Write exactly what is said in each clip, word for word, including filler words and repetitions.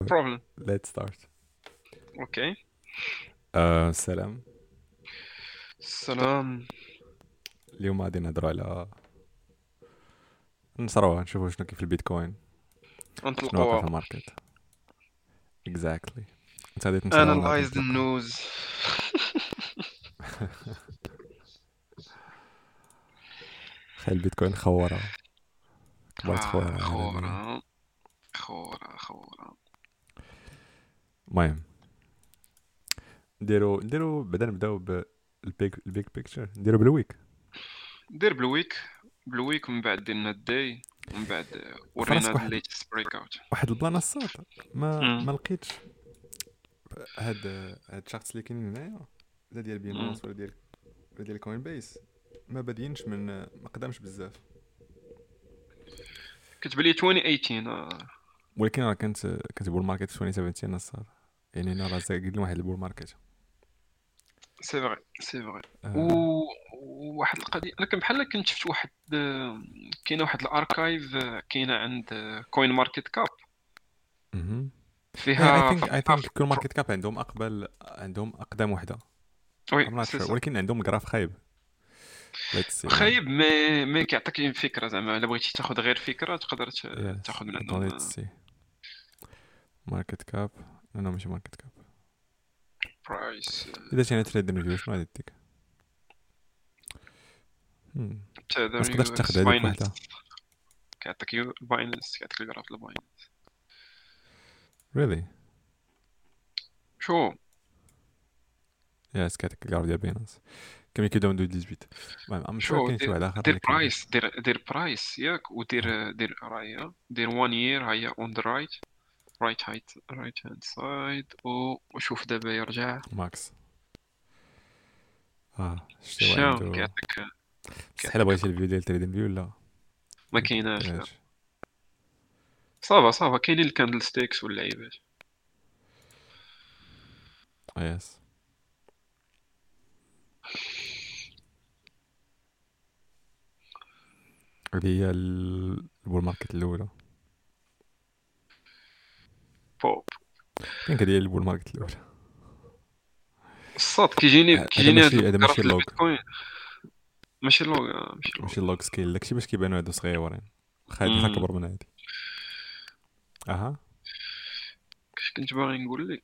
problem. Let's start. اوكي. آه سلام. السلام. اليوم غادي نهضروا على نصروها نشوفوا شنو كاين في البيتكوين، شنو واقع في نطلقوا. الماركت. exactly. انت غادي تنشرها وانا غادي analyze the نطلقها. news. خير البيتكوين خوره، كبرت آه خوره عالميا. خورا خورا خورا. المهم نديرو نديرو بعدا نبداو بالبيك البيك بيكتشر، نديرو بالويك. دير بلويك بلويك ومن بعد دير لنا الداي ومن بعد ورينا فراسك واحد الليتست بريك اوت. واحد البلان الصاد، ما ما لقيتش هاد هاد الشخص اللي كاينين هنايا، لا ديال بينونس ولا ديال ولا ديال كوين بيس، ما بادينش من ما قدامش بزاف. كتب لي ألفين وثمانية عشر. آه. ولكن راه كانت كانت بول ماركت في ألفين وسبعطاش الصاد، يعني انا راه زايد واحد البول ماركت. سي فري سي فري. و آه. وواحد القضيه انا كان بحال كنت شفت واحد آه، كاينه واحد الاركايف آه، كاينه عند كوين ماركت كاب اها اي فيها ثينك اي فيها ثينك كل ماركت كاب عندهم اقبل، عندهم اقدم وحده. وي I'm not سي sure، سا. ولكن عندهم الجراف خايب. let's see man. خايب مي مي كيعطيك فكره زعما الا بغيتي تاخذ غير فكره تقدر ت- yes تاخذ من attends عندهم. let's see ماركت كاب. لا لا ماشي ماركت كاب. برايس اذا شي تريد ريفيو شنو غادي ديك؟ hmm. تاع ذا ما تقدرش يو تاخذ اكس هذيك باينانس. وحده. كيعطيك يو باينانس كيعطيك الجراف باينانس. really شو yes كاتك الجراف ديال بينانس كم كيبداو من ثمانية عشر. المهم ام شور شو كاين شي دير واحد اخر دير اللي كيبدا. برايس دير دير برايس ياك ودير دير راهي دير وان يير هيا اون ذا رايت رايت هايت رايت هاند سايد. وشوف دابا يرجع ماكس اه شتي هو شا عنده. كيعطيك مستحيل كيعطيك بغيتي الفيديو ديال تريدين فيو ولا ما ما كايناش لا. كديرهاش. صافا صافا كاينين الكاندل ستيكس واللعيبات. اه يس هذه هي ال- البول ماركت الاولى. بوب كاين كدير البول ماركت الاولى. الصاد كيجيني ه- هذا كيجيني هاد ماشي هذا الفكره ماشي في اللوغ، البيتكوين. ماشي لوغ ماشي لوغ. ماشي اللوغ سكيل، داكشي باش كيبانو هادو صغيورين، واخا هادي مم. كبر من هادي. اها كاش كنت باغي نقول لك.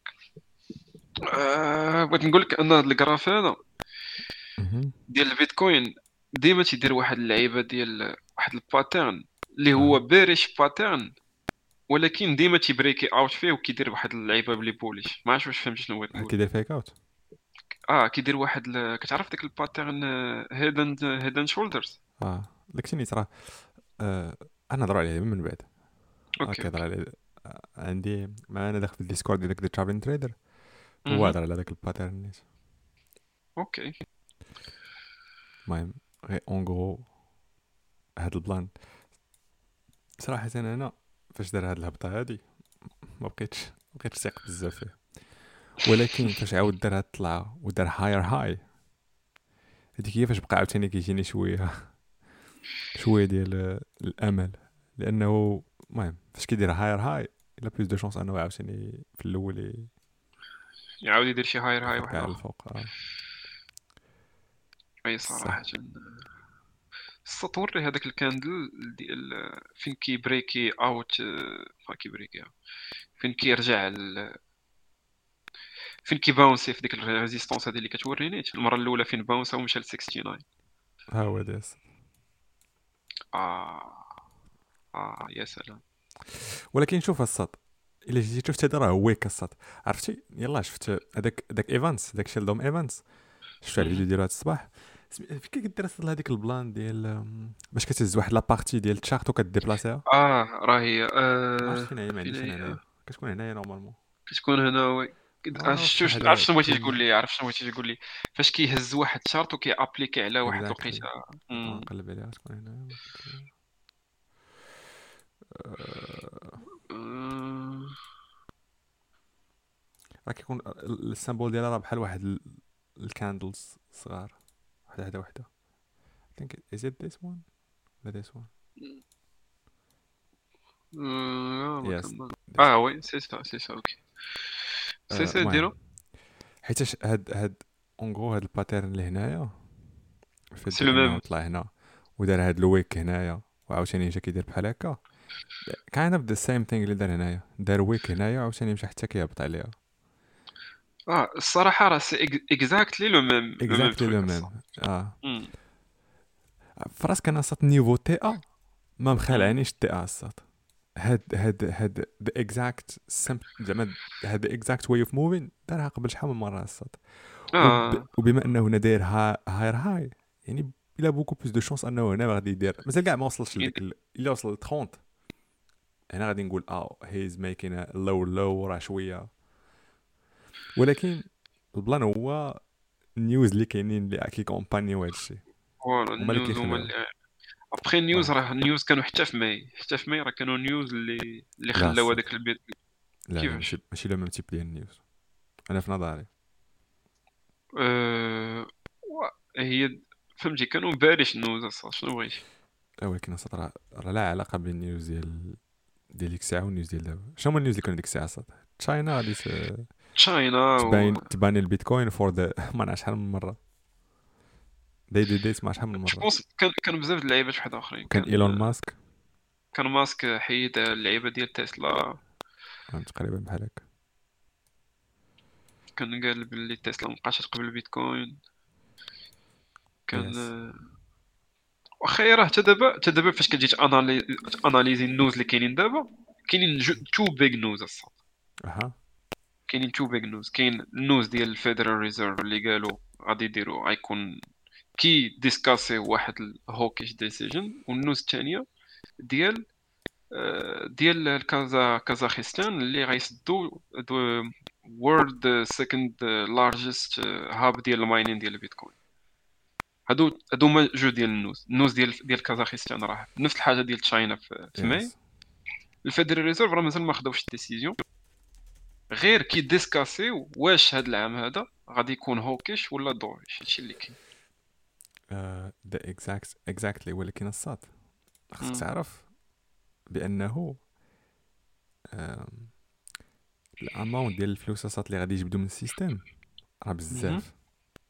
آه بغيت نقول لك ان هاد الجراف هذا اها ديال البيتكوين ديما تيدير واحد اللعيبه ديال واحد الباترن اللي هو اها بيريش باترن، ولكن ديما تيبريكي اوت فيه وكيدير واحد اللعيبه بلي بوليش. ما عرفتش واش فهمت شنو بغيت نقول. كيدير فيك اوت. اه كيدير واحد ل... كتعرف ديك الباترن هيد اند هيد اند شولدرز. اه داكشي اللي ترى. آه انا نهضر عليه من بعد. اه اوكي كيهضر اوكي. عليه. آه، عندي ما انا داخل في الديسكورد ديال داك الترافلين تريدر، هو اها هضر على داك الباترن نيت. اوكي. المهم غير اون غرو هاد البلان صراحه انا فاش دار هاد الهبطه هادي ما بقيتش ما بقيتش ثيق بزاف فيه. ولكن فاش عاود دار هاد الطلعه ودار هاير هاي، هذيك هي فاش بقى عاوتاني كيجيني شويه شويه ديال آه، الامل. لانه المهم فاش كيدير هاير هاي الا بلوس دو شونس انه عاوتاني في الاول ي- يعاود يدير شي هاير هاي ياخد واحد كاع اخر. الفوق. اه اي صراحه صح. السطور هذاك الكاندل ديال فين كيبريكي اوت. ما كيبريكي اوت فين كيرجع ال... فين كيباونسي في ديك الريزيستونس هذه اللي كتوريني المره الاولى فين باونسا ومشى ل تسعة وستين. ها هو داس. اه اه يا سلام. ولكن شوف السط، الا جيتي شفت هذا راه ويك السط. عرفتي يلا شفت هذاك هذاك ايفانس، هذاك شيلدوم ايفانس، شفت على مهم. الفيديو ديالو هذا الصباح. سمي- فين كدير اصلا هذيك البلان ديال أم، باش كتهز واحد لابارتي ديال التشارت وكديبلاسيها. اه راهي ما عرفتش آه فين هي، ما فين عنديش انا هي هنايا، كتكون هنايا نورمالمون. كتكون هنا وي. اه آه، انا واخا شفتوش عرفت هذا شنو بغيتي تقول كل لي عرفت شنو بغيتي تقول لي فاش كيهز واحد شارت وكي ابليكي على واحد اكزاكتلي. الوقيته. طبعا مم. نقلب عليها تكون هنايا ما كنت هنايا. أه... آه، راه كيكون ال- السامبول ديالها راه بحال واحد ال- الكاندلز صغار، وحده وحده وحده. I think is it this one ولا this one. لا ما يس. كان اه وي سي سا سي سا اوكي سي سي المهم ديرو حيتاش هاد هاد اونغو هاد الباترن اللي هنايا فات سي ديال لو انه ميم. طلع هنا ودار هاد الويك هنايا وعاوتاني جا كيدير بحال هكا كاين نفس ذا سيم ثينغ اللي دار هنايا دار ويك هنايا وعاوتاني مشى حتى كيهبط عليها اه الصراحه راه سي اكزاكتلي لو ميم لو ميم اكزاكتلي لو تروك ميم. الصراحه. اه امم فراسك انا صات نيفو تي ا ما امم مخالعنيش تي ا صات هاد هاد هاد ذا اكزاكت سم زعما هاد ذا اكزاكت واي اوف موفين دارها قبل شحال من مره صات وب... اه وبما انه هنا داير ها... هاير هاي يعني الى بوكو بلوس دو شونس انه هنا غادي يدير مازال كاع ما وصلش لديك ال... الا وصل ل ثلاثين هنا غادي نقول اه هيز ميكين لو لو راه شويه ولكن البلان هو النيوز اللي كاينين اللي كيكومبانيو هذا الشيء فوالا هما اللي النيوز هما كيخلعوا. اللي ابخي النيوز المهم راه النيوز كانوا حتى في ماي حتى في ماي راه كانوا نيوز اللي اللي لا خلاو الصاد هذاك البيت. لا لا ماشي كيفاش ماشي لو ميم تيب ديال النيوز انا في نظري. أه... و- هي فهمتي كانوا بارش النوز اصلا شنو بغيتي. اه ولكن الصاد راه راه لا علاقه بين النيوز ديال ديال ديك الساعه والنيوز ديال دابا شنو هما النيوز اللي كانوا ديك الساعه صاد تشاينا غادي ت- تشاينا و تبان تبان البيتكوين فور ذا ما نعرف شحال من مره داي دي ديت ما شحال من جو مره بونس كان كانوا بزاف د اللعيبات واحد اخرين وكان ايلون كان ماسك كان ماسك حيد اللعيبه ديال تسلا. آه، تقريبا بحال هكا. كان قال باللي تسلا مبقاش تقبل البيتكوين. كان يس آه، واخا هي راه حتى دابا حتى دابا فاش كتجي تانالي اناليزي النوز اللي كاينين دابا كاينين تو بيج نوز اصلا. اها كاينين تو بيج نوز كاين النوز ديال الفيدرال ريزيرف اللي قالوا غادي يديروا غيكون كي ديسكاسي واحد الهوكيش ديسيجن والنوز الثانيه ديال آه، ديال الكازا كازاخستان اللي غيسدوا وورلد سيكند لارجست هاب ديال الماينين ديال البيتكوين. هادو هادو هما جوج ديال النوز النوز ديال ديال كازاخستان راه نفس الحاجه ديال تشاينا في, في ماي. يس الفيدرال ريزيرف راه مازال ما خداوش الديسيزيون غير كي ديسكاسيو واش هاد العام هذا غادي يكون هوكيش ولا دوريش هادشي اللي كاين. ذا اكزاكت اكزاكتلي ولكن الصاد خصك مم. تعرف بانه آم، الاماونت ديال الفلوس الصاد اللي غادي يجبدوا من السيستم راه مهم. بزاف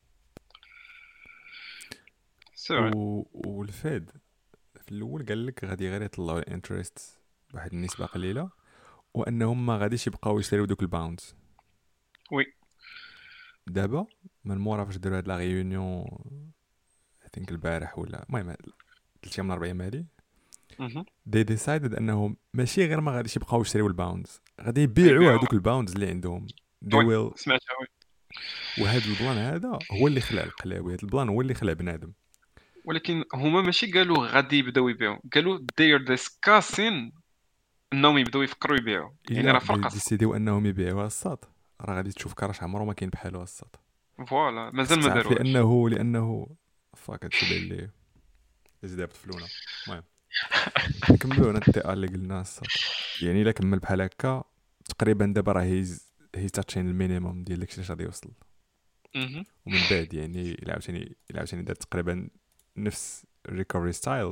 سي و... فري. والفيد في الاول قال لك غادي غير يطلعوا الانترست بواحد النسبه قليله وانهم ما غاديش يبقاو يشريو دوك الباوندز. وي دابا من مورا فاش داروا هاد لا ريونيون اي ثينك البارح ولا المهم ثلاث ايام من اربع ايام هادي مهم. دي ديسايدد انهم ماشي غير ما غاديش يبقاو يشريو الباوندز غادي يبيعوا غيبيعوا. هذوك الباوندز اللي عندهم they وي will. سمعتها وي. وهذا البلان هذا هو اللي خلع القلاوي هذا البلان هو اللي خلع بنادم. ولكن هما ماشي قالوا غادي يبداو يبيعوا قالوا they are discussing انهم يبداو يفكروا يبيعوا يعني الا راه فرق اصلا. ديسيديو انهم يبيعوها الصاد راه غادي تشوف كراش عمره ما كاين بحالو الصاد. فوالا مازال خصك ما تعرف داروهاش. لانه لانه فاك هادشي باين لي زيد بطفلونا. المهم نكملوا هنا التي اللي قلنا الصاد يعني الا كمل بحال هكا تقريبا دابا راه هيز هي تاتشين المينيموم ديال داكشي اللي غادي يوصل مهم. ومن بعد يعني الا عاوتاني الا عاوتاني دار تقريبا نفس الريكفري ستايل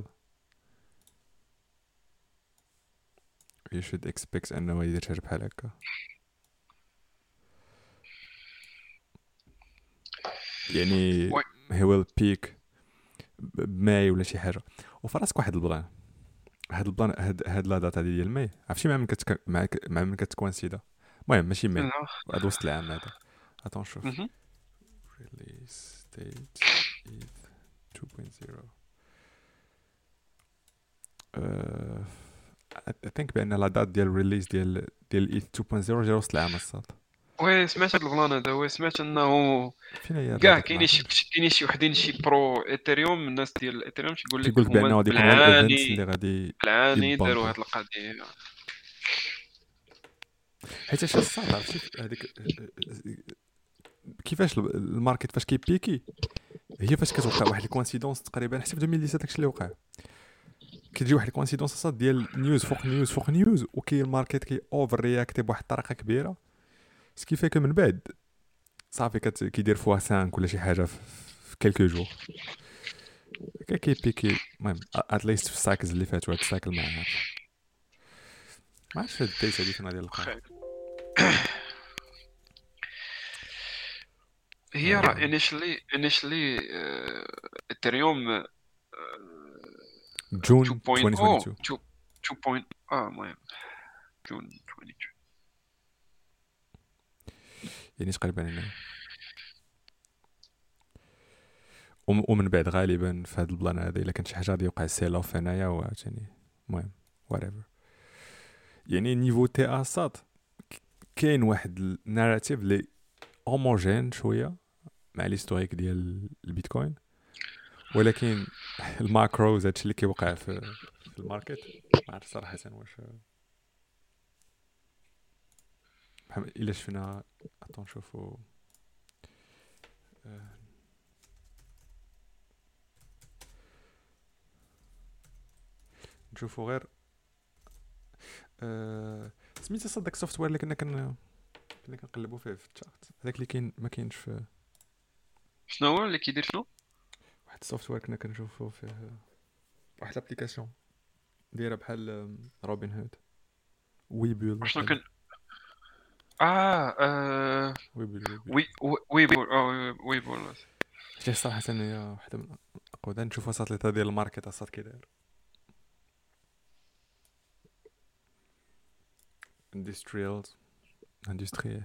you should expect انه يدير حاجه بحال هكا يعني وي he will peak بماي ولا شي حاجه. وفراسك واحد البلان هاد البلان هاد هاد لا داتا ديال ماي عرفتي مع من كتك مع ك- مع من كتكوانسيدا المهم ماشي ماي لا. هاد وسط العام هذا اتون شوف مهم. release date is two point zero uh, I think بان لا دات ديال الريليز ديال ديال اي two point zero جا وسط العام الصاد. وي سمعت هاد البلان هذا وي سمعت انه فين هي لا كاع دات كاينين ما شي عرفتش كاينين شي وحدين شي برو ايثيريوم الناس ديال الايثيريوم تيقول لك كيقول لك هما بان غادي يكونوا الايفنتس بالعاني اللي غادي بالعاني داروا يبامبو هاد القضيه. حيت اش الصاد عرفتي هذيك كيفاش الماركت فاش كيبيكي هي فاش كتوقع واحد الكوانسيدونس تقريبا حتى في ألفين وسبعطاش داكشي اللي وقع كتجي واحد الكوانسيدونس صاد ديال نيوز فوق نيوز فوق نيوز وكي الماركت كي اوفر رياكتي بواحد الطريقه كبيره سكيفيك من بعد صافي كت كيدير فوا خمسة ولا شي حاجه في, في كلكو جور كي كيبيكي المهم اتليست في السايكلز اللي فاتوا هاد السايكل ما عارف ما عرفتش هاد الديت هادي فين غادي نلقاها. خير. هي راه آه. initially initially اثيريوم جون two point oh ألفين واثنين وعشرين. two two point اه المهم جون اثنين وعشرين. يعني تقريبا هنايا. وم- ومن بعد غالبا في هذا البلان هذا الا كانت شي حاجه غادي يوقع سيل اوف هنايا وعاوتاني المهم whatever. يعني نيفو تي اسات كاين واحد الناراتيف اللي هوموجين شويه مع ليستوريك ديال البيتكوين، ولكن الماكروز هادشي اللي كيوقع في في الماركت ما عرفت صراحه واش بحال الا شفنا اطون نشوفوا آه، نشوفوا غير أه... سميتو صدق السوفت وير اللي كنا كن كنا كنقلبوا فيه في الشارت هذاك اللي كاين ما كاينش في شنو هو اللي كيدير شنو؟ واحد السوفت وير كنا كنشوفوا فيه واحد الابليكاسيون دايره بحال روبن هود ويبول شنو ولا كان اه آه، ويبول ويبول وي وي ويبول اه ويبول. شي صراحه هي واحده من اقوى نشوفوا ساتليت ديال الماركت اصاط كي داير اندستريالز اندستري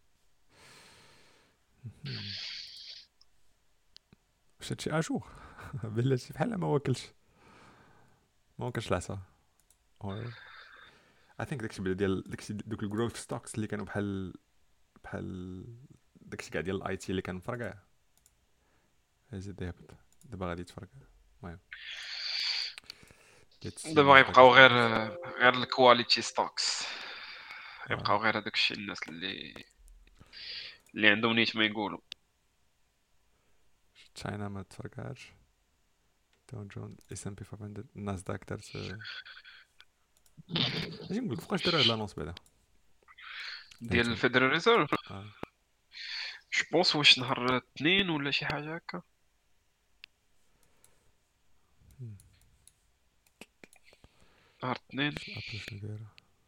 واش هادشي اجور بلاتي بحال ما واكلش ما واكلش العصا اور اي ثينك داكشي بلا ديال داكشي دوك الجروث ستوكس اللي كانوا بحال بحال داكشي كاع ديال الاي تي اللي كان مفرقع هازيد يهبط دابا غادي يتفرقع. المهم دابا يبقاو غير غير الكواليتي ستوكس، يبقاو آه. غير هذاك الشيء الناس اللي اللي عندهم نيت ما يقولوا. تشاينا ما تفرقعش داون جون اس ام بي خمسمية الناسداك دارت اجي نقول لك فوقاش داروا هاد لانونس بعدا ديال الفيدرال ريزيرف اه جو بونس واش نهار اثنين ولا شي حاجه هكا. نهار اثنين ابل شنو دايره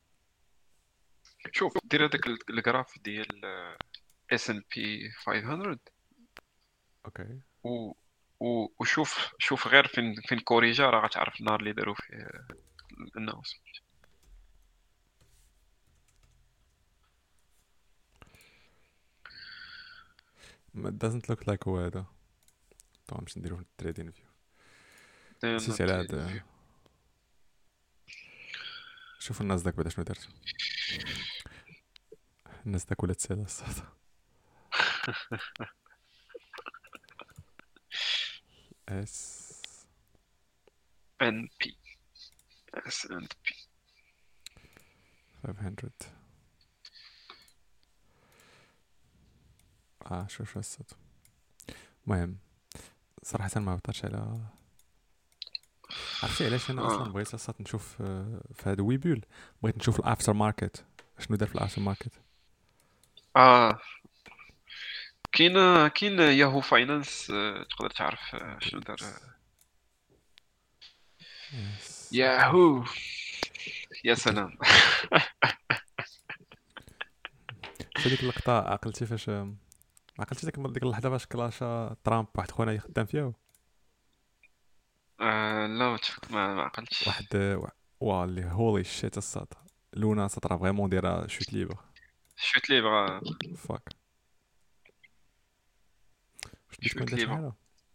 شوف دير هذاك الجراف ديال اس ان بي خمسمية اوكي و و- وشوف شوف غير فين فين كوريجا راه غتعرف النهار اللي داروا فيه الناس. ما doesn't look like هو هذا طبعا باش نديرو في التريدين فيو نسيت على هاد شوفوا الناس داك بعدا شنو دارت الناس داك ولات سالا الصاد اس ان بي اس ان بي خمسمية اه شوف شو الصاد. المهم صراحة ما هبطتش على عرفتي علاش انا آه. اصلا بغيت اصلا نشوف آه، في هذا ويبول بغيت نشوف الافتر ماركت شنو دار في الافتر ماركت. اه كاين كاين ياهو فاينانس تقدر تعرف آه، شنو دار يس ياهو. يا سلام. في ديك اللقطة عقلتي فاش عقلتي ديك ديك اللحظة فاش كلاشا ترامب واحد خونا يخدم فيها آه لا ما تفك- ما ما عقلتش. واحد وا اللي هولي شيت الصاد لونا سطرا فريمون دايره شوت ليبر شفت لي بغا فاك واش شوت بيتكوين دار شي لي بغا حاجة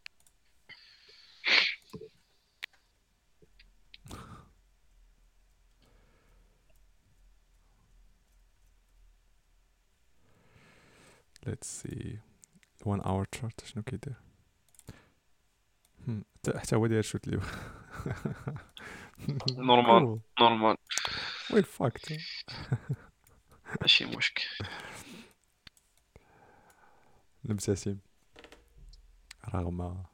let's see one hour chart شنو كيدير هم، حتى حتى هو داير شوت ليبر نورمال نورمال وين فاكت ماشي مشكل. المبتسم رغم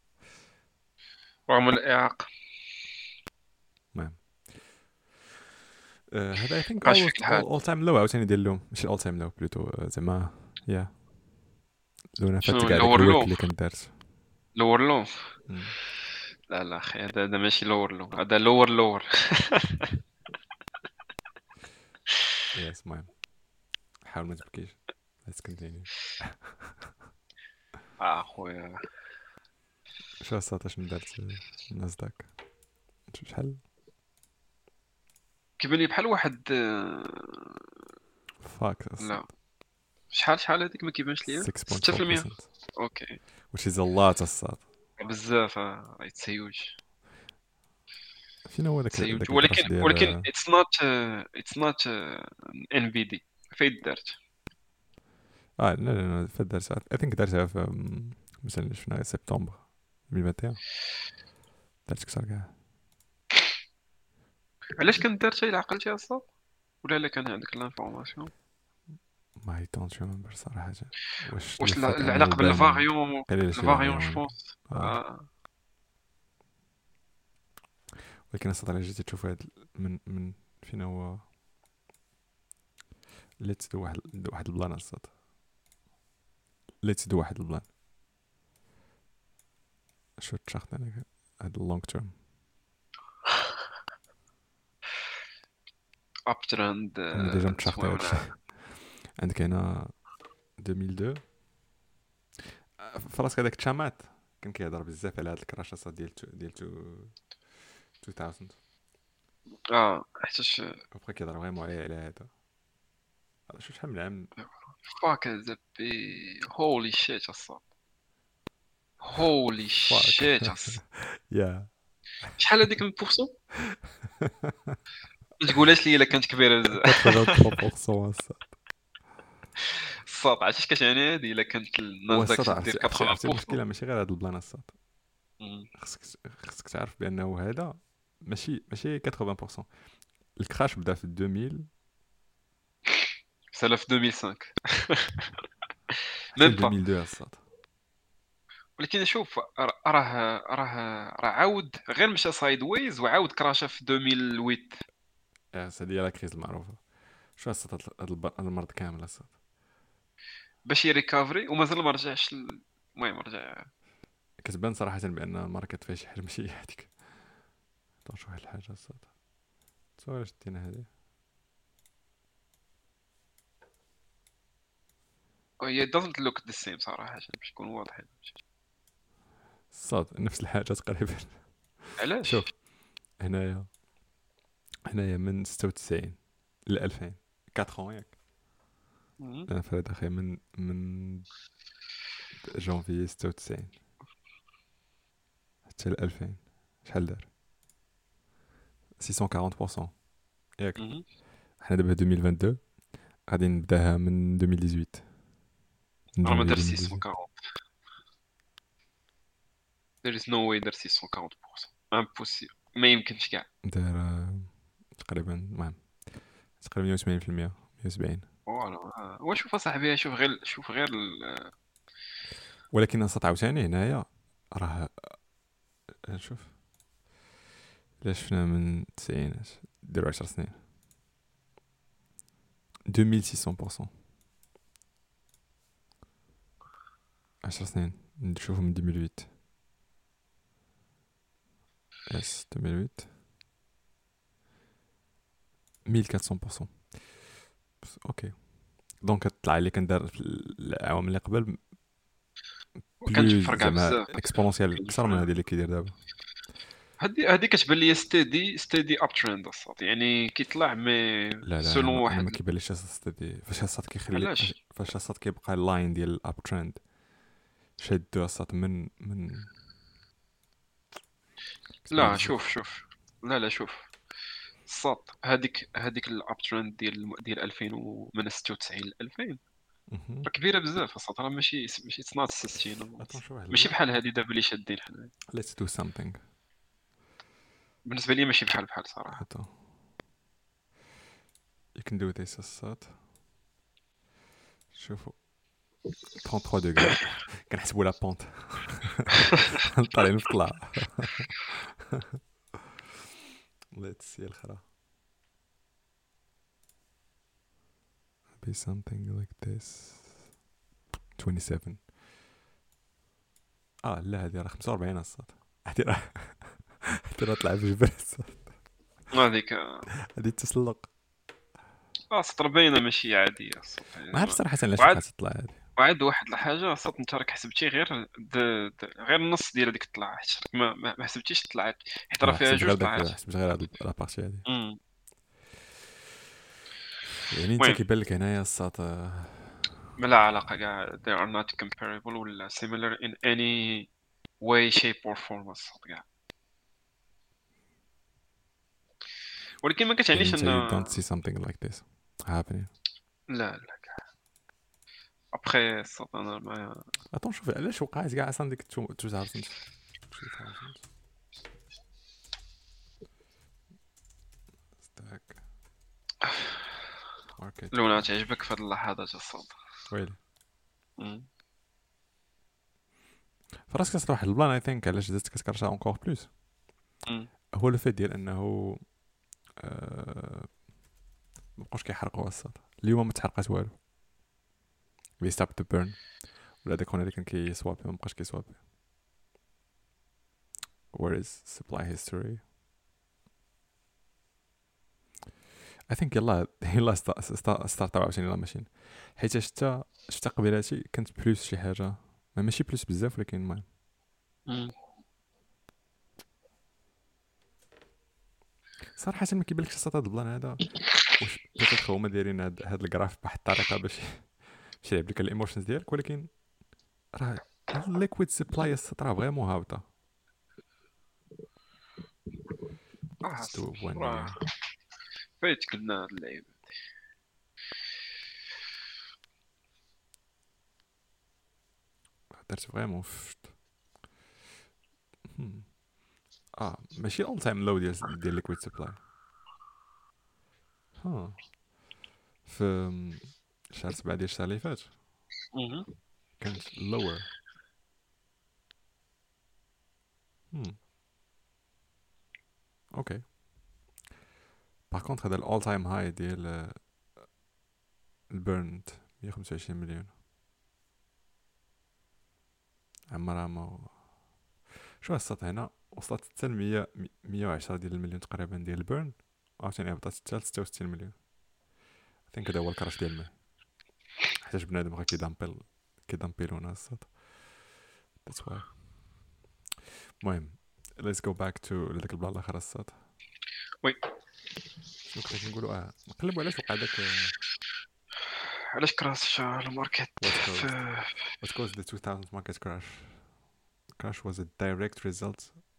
رغم الإعاقة. آه، هذا اي ثينك عاش فيك الحال. اول تايم لو عاوتاني ديال لهم ماشي اول تايم لو بلوتو زعما يا لونا فات شنو كاع داك لور لو الورك اللي كنت دارت لور لو مم. لا لا اخي هذا هذا ماشي لور لو هذا لور لور. يس المهم حاول ما تبكيش. let's continue. اه خويا شو الساعة شنو دارت نازداك شحال كيبان لي بحال واحد آه، فاك لا شحال شحال هذيك ما كيبانش ليا ستة في المية. six point four percent اوكي which is a lot الساعة. بزاف آه، يتسيوج فين هو داك تسيوج داك ولكن الكراش ديال ولكن اتس نوت اتس نوت ان في دي فايت دارت. اه لا لا لا فات دارتها I think دارتها في أم، مثلا شفنا سبتمبر ألفين وواحد وعشرين دارت كثر كاع. علاش كانت دارت الا عقلتي اصلا ولا لا كان عندك الانفورماسيون ما دونت ريمبر صراحة. واش لو واش فات انه العلاقه بان بالفاريون قليل شي الفاريون جو فاريون. بونس. اه ولكن اصلا جيتي تشوف هاد من من فين هو ليتس دو واحد دو واحد البلان اصلا ليتس دو واحد البلان شو تشاخت انا هاد اللونج تيرم اب ترند انا ديجا متشاخت المهم هادشي. انا عندك هنا ألفين واثنين فراسك هذاك تشامات كان كيهضر بزاف على هاد الكراشات ديال تو- ديال تو- ألفين اه حيتاش وبقى كيهضر فريمون عليه على هذا هذا شو شحال من عام. فاك ذا بي هولي شيت اصلا هولي فاك شيت اصلا يا شحال هذيك من بورسون ما تقولهاش لي الا كانت كبيره بزاف. ثمانية وثلاثين بالمية الصاد عرفتي اش كتعني هادي الا كانت هو النازداك الصاد تدير عرفتي عرفتي عرفتي ثمانين بالمية. المشكله ماشي غير هاد البلان الصاد. مم. خصك خصك تعرف بانه هذا ماشي ماشي ثمانين بالمية. الكراش بدا في ألفين سالا في ألفين وخمسة حتى ميم ل با. ألفين واثنين الصاد. ولكن شوف راه راه راه راه عاود غير مشى سايد ويز وعاود كراشا في ألفين وثمانية. ياس هادي هي لا كريز المعروفه. شو الصاد هاد هاد الب- هاد المرض كامل الصاد. باش يريكافري ومازال ما رجعش ل- المهم رجع. كتبان صراحه بان الماركت فيها شي حاجه ماشي هذيك. طاش واحد الحاجه الصاد تصور شتينا هذه هي doesn't look the same صراحه عشان باش نكون واضحين. الصاد نفس الحاجه تقريبا. علاش؟ شوف هنايا هنايا من ستة وتسعين ل ألفين أربعة ans ياك. مم. انا فريد اخي من من جانفي ستة وتسعين حتى ل ألفين شحال دار ستمية وأربعين بالمية ياك. مم. حنا دابا ألفين واثنين وعشرين غادي نبداها من ألفين وثمانية عشر من راه ما جانفي دار ألفين وثمانية عشر. ستمية وأربعين. there is no way دار ستمية وأربعين impossible ما يمكنش كاع. دار آه، تقريبا المهم تقريبا مية وثمانين بالمية مية وسبعين. فوالا آه. وشوف اصاحبي شوف غير شوف غير ال- ولكن نصات عاوتاني هنايا راه آه، شوف الا شفنا من التسعينات ديرو عشر سنين ألفين وستمية بالمية عشر سنين نشوفو من ألفين وثمانية اس ألفين وثمانية ألف وأربعمية بالمية. بس اوكي دونك طلع لي كان دار في العوام اللي قبل كانت بلوز مفرقعه زعما بزاف. اكسبونونسيال كانت اكثر من مفرقعة. هذه اللي كيدير دابا. هادي هادي كتبان لي ستيدي ستيدي اب ترند الصوت يعني كيطلع مي لا لا انا سولون ما, أنا واحد. ما كيبانليش الصاد دي فاش الصاد كيخلي فاش, علاش؟ فاش الصاد كيبقى اللاين ديال الاب ترند شادو الصاد من من كتبان لا بزاف. شوف شوف لا لا شوف الصوت هذيك هذيك الاب ترند ديال ديال ألفين و- من ستة وتسعين ل ألفين مهم. راه كبيره بزاف الصوت راه ماشي ماشي اتس نوت سستينبل. اتون شو واحد ماشي البلان بحال هادي دابا اللي شادين حنا. let's do something. بالنسبه لي ماشي بحال بحال صراحه. attends you can do this الصاد شوفوا ثلاثة وثلاثين دوغري كنحسبوا لا بونت طالعين في طلع. let's see الخرا be something like this سبعة وعشرين. اه لا هذه راه خمسة وأربعين الصاد هذه راه هذه راه طلع في جبل الصاد هذيك هذه التسلق. اه سطر باينه ماشي عاديه الصوت ما عرفتش صراحه علاش وعاد بقات تطلع هذه. وعاد واحد الحاجه صوت انت راك حسبتي غير د... د... غير النص ديال هذيك الطلعه حيت راك ما... ما ما حسبتيش طلعت حيت راه اه فيها حسبت جوج غير داك، طلعات. حسبت غير هاد لابارتي هادي. امم يعني انت المهم كيبان لك هنايا الساط ما لا علاقه كاع they are not comparable ولا similar in any way shape or form الصوت كاع، ولكن ما يعني كتعنيش انت ان you don't see something like this happening. لا لا ابخي الصوت انا ما اتون شوف علاش وقعت كاع اصلا ديك ألفين ألفين ستاك ماركت لونا تعجبك في هذه اللحظات الصوت. ويلي مم. فراسك كتصرا واحد البلان اي ثينك علاش زدت كتكرشا اونكور بلوس، مم. هو لو فيت ديال انه أه... مابقاوش كيحرقوا الصاد. اليوم ما تحرقات والو، وي ستوب تو بيرن، ولا داك اللي كان كيسواب ما بقاش كيسواب. where is supply history. I think يلا يلا ستارت عاوتاني يلا ماشين، حيت شتا شتا قبيلاتي كانت بلوس شي حاجه، ما ماشي بلوس بزاف ولكن المهم مم. صراحه ما كيبانلكش الساط هذا البلان هذا واش بيتيت هما دايرين هاد هاد الجراف بواحد الطريقه باش باش يلعب لك الايموشنز ديالك، ولكن راه الليكويد سبلاي الساط راه فريمون هابطه. اه It's to one راه year. فايتك لنا هاد اللعيبه. درت فريمون فشت. هم. اه ماشي اول تايم لو ديال ديال ليكويد سبلاي. ها في شهر سبعة ديال الشهر اللي فات مهم. كانت lower. هم اوكي. باغ كونطخ هذا الاول تايم هاي ديال البيرند مية وخمسة وعشرين مليون عمرها ما شو السطح هنا وصلت حتى ل مية مية وعشرة ديال المليون تقريبا ديال البيرن، عاوتاني هبطت حتى ل ستة وستين مليون. ثينك هذا هو الكراش ديال الماء، حيت بنادم غا كيدامبل كيدامبيلونا السطح. ذاتس واي. المهم let's go back to لذاك البلان الاخر السطح. وي شنو كنا كنقولوا؟ اه نقلبوا علاش وقع داك علاش كراش الماركت what caused في what caused the two thousand market crash. Crash was a direct result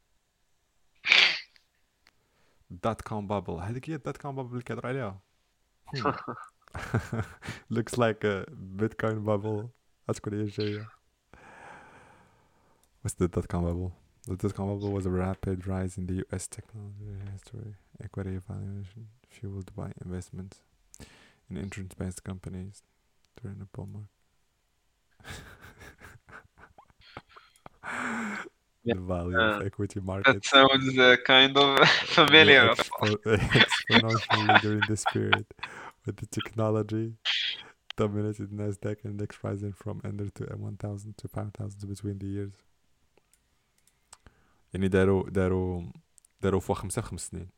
dot com bubble. هذيك هي dot com bubble اللي كيهضروا عليها. Hmm. Looks like a Bitcoin bubble. هتكون هي الجاية. What's the dot com bubble? The dot com bubble was a rapid rise in the U S technology history. Equity valuation fueled by investments in internet-based companies during the bull market. The value of Uh, equity that markets sounds uh, kind of grew familiar. expo- exponentially during this period, with the technology dominated Nasdaq index rising from under to one thousand to five thousand between the years. يعني داروا داروا داروا فوا خمسة في خمس سنين.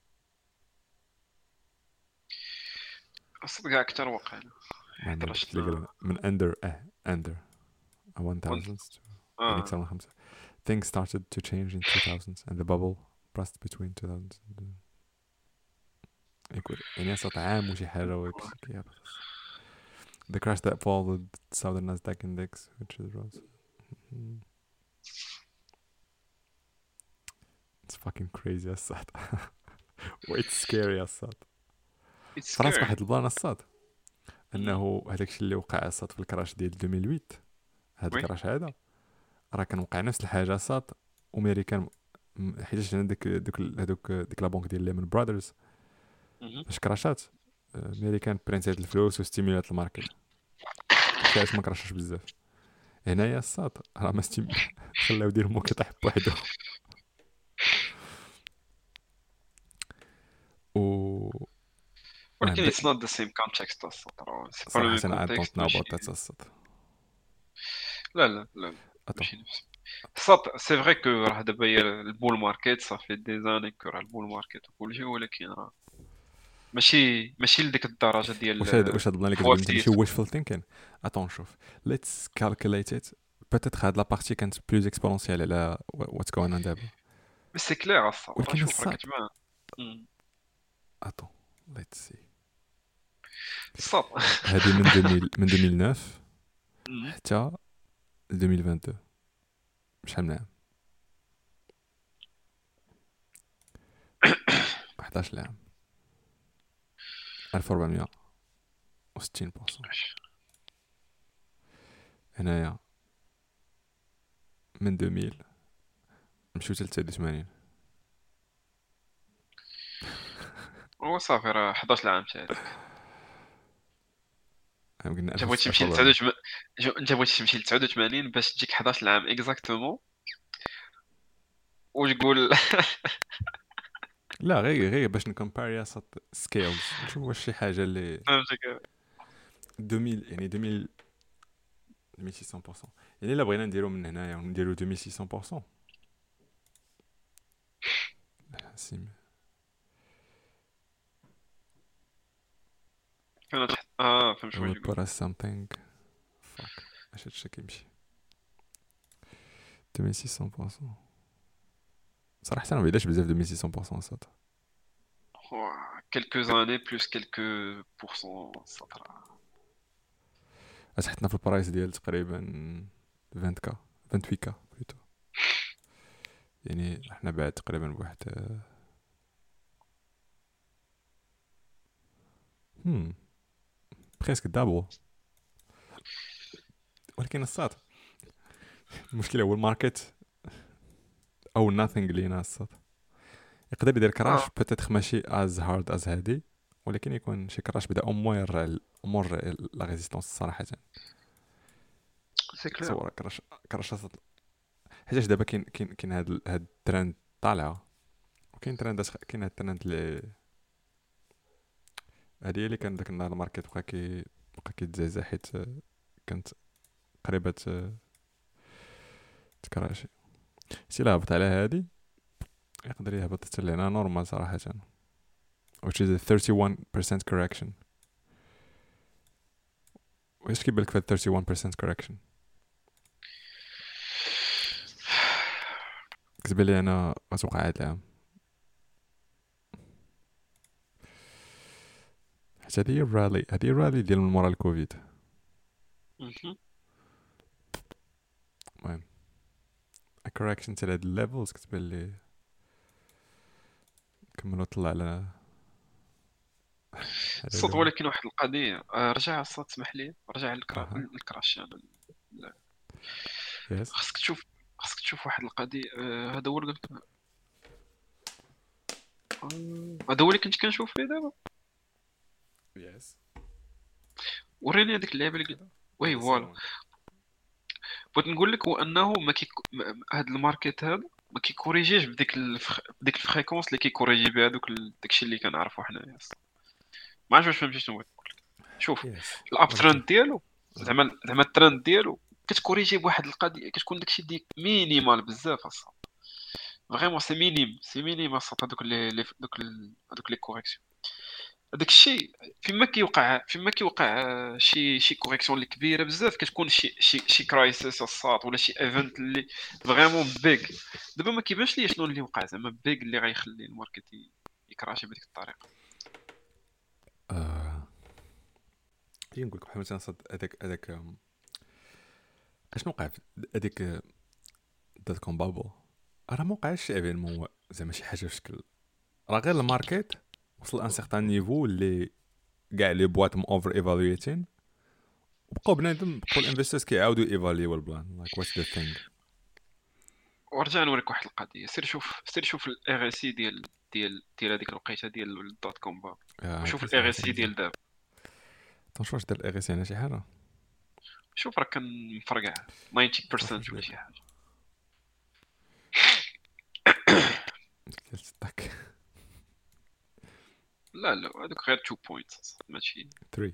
اصلا كاع اكثر وقع ما عندنا حيت قلت لك راه من under اه under one thousand يعني اه أكثر من خمسة. Things started to change in two thousands and the bubble burst between two thousands and equity. يعني أصلا عام وشي حاجة وكشي كيهبط. The crash that followed southern Nasdaq index which is rose. It's fucking crazy الصاد. It's scary الصاد. it's فراسك scary. واحد البلان الصاد انه هذاك الشيء اللي وقع الصاد في الكراش ديال ألفين وثمانية هذا وي. الكراش هذا راه كان وقع نفس الحاجه الصاد امريكان حيت عندك دوك هذوك ديك لا بنك ديال ليمون برادرز مهم. فاش كراشات امريكان برينتات الفلوس وستيمولات الماركت علاش ما كراشش بزاف. هنايا الصاد راه ما ستيم خلاو يدير مو كيطيح بوحدو و ولكن it's not the same context اصلا راه سي با لو صراحه ميم انا I don't context know ماشي. about that الصاد. لا لا لا اتو ماشي نفس صات سي فري كو راه دابا هي البول ماركت صافي دي زاني كو راه البول ماركت وكلشي، ولكن راه ماشي ماشي لديك الدرجه ديال واش هاد واش هاد البلان اللي كتقول انت ماشي فوالتيس. wishful thinking. اتون شوف let's calculate it. peut-être هاد لا بارتي كانت بلوز اكسبونونسيال على what's going on دابا. بس سي كلير الصاد راه ولكن شوف راه الصاد كتبان. مم. اتون let's see. الصاد. هادي من ألفين من ألفين وتسعة مم. حتى ألفين واثنين وعشرين. شحال من عام؟ حداش عام. ألف وأربعمية وستين بالمية. هنايا من ألفين نمشيو حتى ثلاثة وثمانين. هو صافي راه حداش عام تاعك. قلنا انت بغيتي ألف تمشي ل وأربعمية. تسعة وثمانين، جو- انت بغيتي تمشي ل تسعة وثمانين باش تجيك حداش عام اكزاكتومون وتقول. لا غير غير باش نكومباري صات سكيلز نشوف واش شي حاجه اللي فهمتك. ألفين يعني ألفين ألفين وستمية بالمية. يعني الا بغينا نديرو من هنايا ونديرو ألفين وستمية بالمية سيم. فهمت. اه فهمت I واش will تقول. put as something fuck اش هادشي كيمشي ألفين وستمية بالمية. صراحه انا ما بعيداش بزاف ألفين وستمية بالمية صات. quelques années plus quelques pourcents سطر. اش حطنا في البرايس ديال تقريبا عشرين كا ثمانية وعشرين كا بلوتو. يعني احنا بعد تقريبا بواحد هم بريسك دابل. ولكن الصاد المشكله هو الماركت او nothing لينا الصاد. يقدر يدير كراش اه بوتيتر ماشي از هارد از هادي، ولكن يكون شي كراش بدا امو يرجع الامور لا ريزيستونس صراحه. سي كلير. تصور كراش كراش حيتاش دابا كاين كاين كاين هاد ال- هاد الترند طالعه، وكاين ترند كاين هاد الترند اللي هادي اللي كان داك النهار الماركت بقى كي بقى كيتزعزع حيت كانت قريبه تكراشي. سي لا هبط على هادي يقدر يهبط حتى لهنا نورمال صراحه، which is a thirty-one percent correction. واش كيبان لك في هاد thirty-one percent correction؟ كتبان لي انا غتوقع هاد العام، حيت هادي هي الرالي هادي هي الرالي ديال من مورا الكوفيد. مهم. المهم correction تاع هاد الليفلز كتبان لي كملوا طلع على على الصوت. لون. ولكن واحد القضيه، آه، رجع الصوت سمح لي، رجع الكرا... اها الكراش انا. لا. يس خاصك تشوف خاصك تشوف واحد القضيه، آه، هذا هو اللي قلت. آه، هذا هو اللي كنت كنشوف فيه دابا. يس وريني هذيك اللعبه اللي قلت. وي هذا سي فوالا. واحد. بغيت نقول لك هو انه ما كي هذا الماركت هذا ما كيكوريجيش بديك الفخ... بديك الفريكونس اللي كيكوريجي بها دوك ال... داكشي اللي كنعرفو حنايا. ما عرفتش واش فهمتي شنو بغيت نقول لك. شوف يس الاب ولكن ترند ديالو، آه. زعما زعما الترند ديالو كتكوريجي بواحد القضيه، كتكون داكشي ديك مينيمال بزاف اصلا. فريمون سي مينيم سي مينيم اصلا هذوك لي لي- دوك ال- هذوك لي كوريكسيون. هذاك الشيء فيما كيوقع فيما كيوقع آه، شي شي كوريكسيون اللي كبيره بزاف، كتكون شي شي شي كرايسيس الصات ولا شي ايفنت اللي فريمون بيج. دابا ما كيبانش ليا شنو اللي وقع زعما بيج اللي غيخلي الماركت ي- يكراشي بديك الطريقه. آه. هي نقول لك بحال مثلا صد هذاك هذاك آم، اشنو وقع في هذيك دات كوم بابل. راه ما وقعش شي ايفينمون زعما شي حاجه في شكل، راه غير الماركت وصل ان سيغتان نيفو اللي كاع لي بواط م اوفر ايفالويتين، وبقاو بنادم بقاو الانفسترز كيعاودوا ايفاليو البلان لايك واتس ذا ثينغ. ورجع نوريك واحد القضيه. سير شوف سير شوف الاغ سي ديال ديال ديال هذيك الوقيته ديال الدوت كوم با، وشوف هادشي الاغ صراحه سي مزيان. ديال دابا. تنشوف واش دار الاغيسي هنا شي حاجه. شوف راه كان مفرقع شوف تسعين بالمية واش ولا دار شي حاجه. ديال ستاك لا لا هذوك غير اثنين بوينتس ماشي. ثلاثة.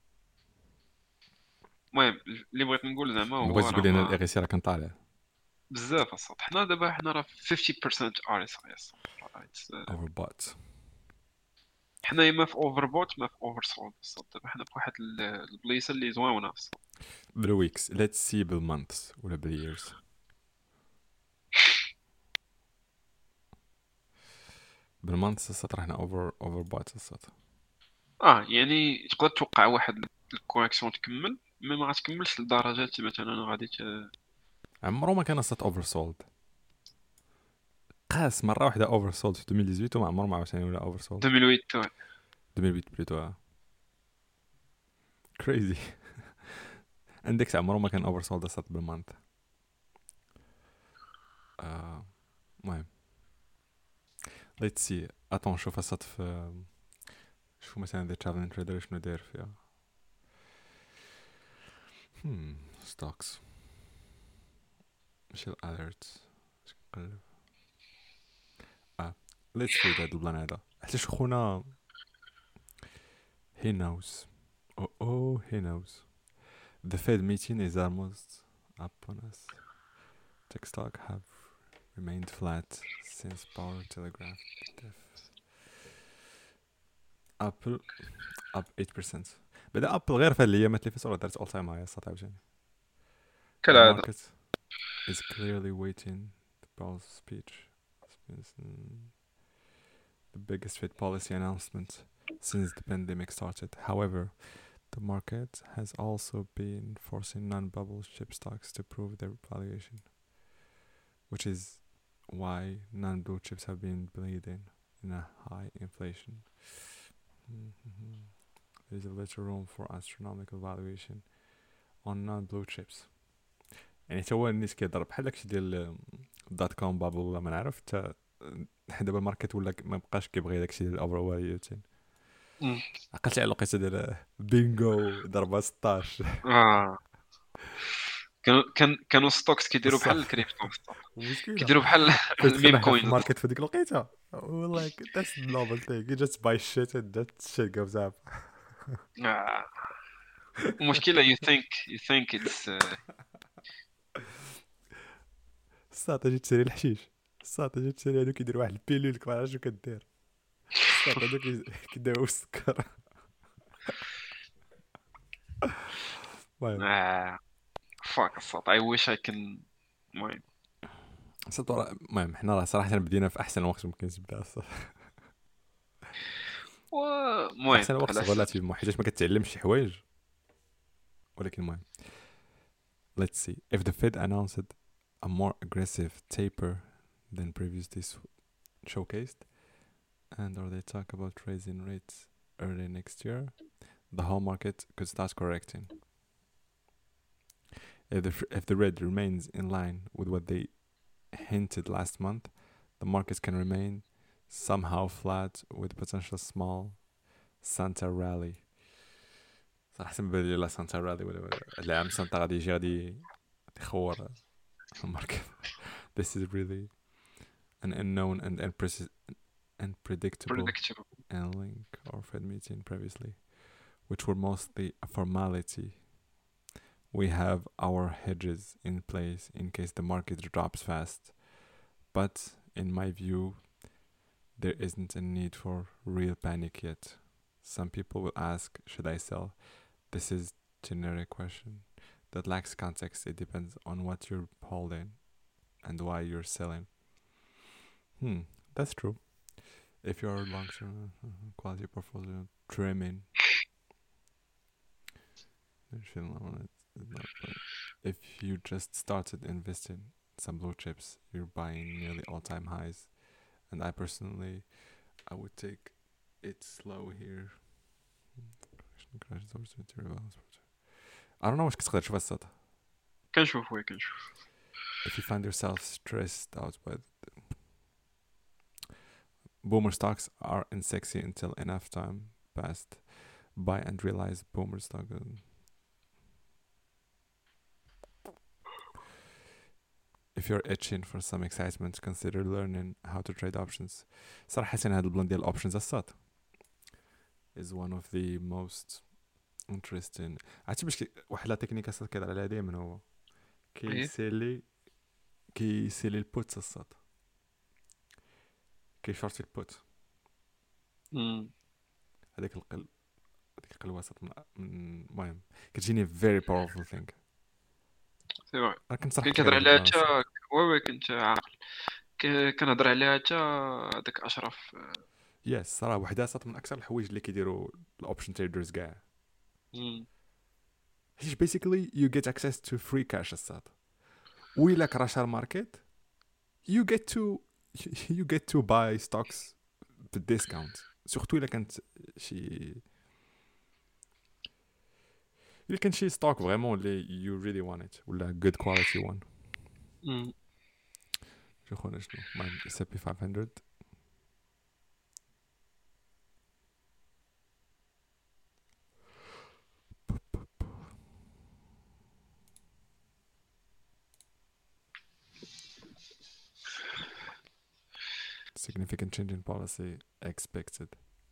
المهم اللي بغيت نقول زعما ما هو بغيتش راه تقول لي انا ما. الاغيسي راه كان طالع. بزاف الصوت. حنا دابا حنا راه خمسين بالمية ار اس اي اس. overbought. حنا ما في اوفر بوت ما في اوفر سولد الصوت. دابا حنا في واحد ال- البليصه اللي زوينه الصوت. بالويكس let's see بالمانثs ولا بالييرز. بالمانثs الصوت راه حنا over overbought الصوت. اه يعني تقدر توقع واحد الكونيكسيون تكمل مي ما غتكملش لدرجات مثلا غادي ت- عمرو ما كان الصوت oversold. قاس مره واحده oversold في ألفين وثمانية عشر وما عمره ما عاوتاني ولا oversold. ألفين وثمانية تو. ألفين وثمانية بلوتو crazy. عندك عمره ما كان oversold الصوت بالمانث. آه المهم let's see اتون شوف الصوت في شوف مثلا ذا ترافلين تريدر شنو داير فيها. hmm stocks ماشي الاليرتس نقلب. اه let's read هاد البلان هذا حتى شو خونا he knows oh oh he knows the Fed meeting is almost upon us. Tech stock have remained flat since Powell telegraphed the Apple up eight percent. بدا ابل غير في الايامات اللي فاتت دارت all time high صات عاوتاني. The كالعاده. market is clearly waiting the Powell's speech. The biggest Fed policy announcement since the pandemic started. However, the market has also been forcing non-bubble chip stocks to prove their valuation, which is why non-blue chips have been bleeding in a high inflation. Mm-hmm. There's a little room for astronomical valuation on non-blue chips. يعني تا هو الناس كيضرب بحال داكشي ديال دات كوم بابل ولا ما نعرف حتى دابا الماركت ولا ما بقاش كيبغي داكشي ديال الاوفر فاليوتين. عقلتي على الوقيته ديال بينغو ضربه ستاش. اه كانوا كان كانوا ستوكس كيديروا بحال بصح الكريبتو الصوت. المشكله كيديروا بحال فاش الميم دخلنا حنا في كوينز. الماركت في ديك الوقيته like that's the novel thing you just buy shit and that shit goes up. آه. المشكله you think you think it's uh, الساطه جيت تشري الحشيش الساطه جيت تشري هادو كيديروا واحد البيلول ما عرفتش شنو كدير الساطه هادو كيداو السكر. المهم آه. fuck الصوت. I wish I can. المهم صدق المهم حنا راه صراحه بدينا في احسن وقت ممكن تبدا الصراحه. المهم احسن وقت على حسب. غولاتيفمون حيت ما كتعلمش شي حوايج ولكن المهم let's see if the Fed announced a more aggressive taper than previously showcased and or they talk about raising rates early next year the whole market could start correcting. If the, if the rate remains in line with what they hinted last month the markets can remain somehow flat with potential small Santa rally. صراحة سنبان لي لا سانتا رالي ولا ولا العام سانتا غادي يجي غادي يخور الماركت. This is really an unknown and unprece- unpredictable predictable. and link or Fed meeting previously, which were mostly a formality. We have our hedges in place in case the market drops fast, but in my view, there isn't a need for real panic yet. Some people will ask, should I sell? This is generic question that lacks context. It depends on what you're holding and why you're selling. Hmm, that's true. If you're long-term uh, quality portfolio trimming, if you just started investing some blue chips, you're buying nearly all-time highs. And I personally, I would take it slow here. I don't know واش كتقدر تشوف السطح. كنشوف وي كنشوف. If you find yourself stressed out by the boomer stocks are unsexy until enough time passed, buy and realize boomer stock. If you're itching for some excitement, consider learning how to trade options. صراحة هذا البلان ديال options الصاد is one of the most interesting. عرفتي باش واحد لا تكنيك الصاد كيهضر عليها دائما هو كيسيلي كيسيلي البوت الصاد، كيشورتي البوت. مم. هذيك القل هذيك القلواسات من من- المهم كتجيني فيري باورفul ثينك. سي فري. انا كنت صراحه كنت قلت لك كنهضر على هذا عليها البلان حتى، الصاد. وي وي كنت عاقل. ك- كنهضر عليها حتى هذاك اشرف. يس صراحه وحده صات من اكثر الحوايج اللي كيديروا الاوبشن تريدرز كاع، مم. حيت basically you get access to free cash الصاد. وإلا كراشار ماركت you get to you get to buy stocks بالديسكاونت، سورتو الا كانت شي الا كان شي ستوك فريمون اللي you really want it ولا good quality one. مم. شو خونا شنو المهم اس بي خمسمية. significant change in policy expected.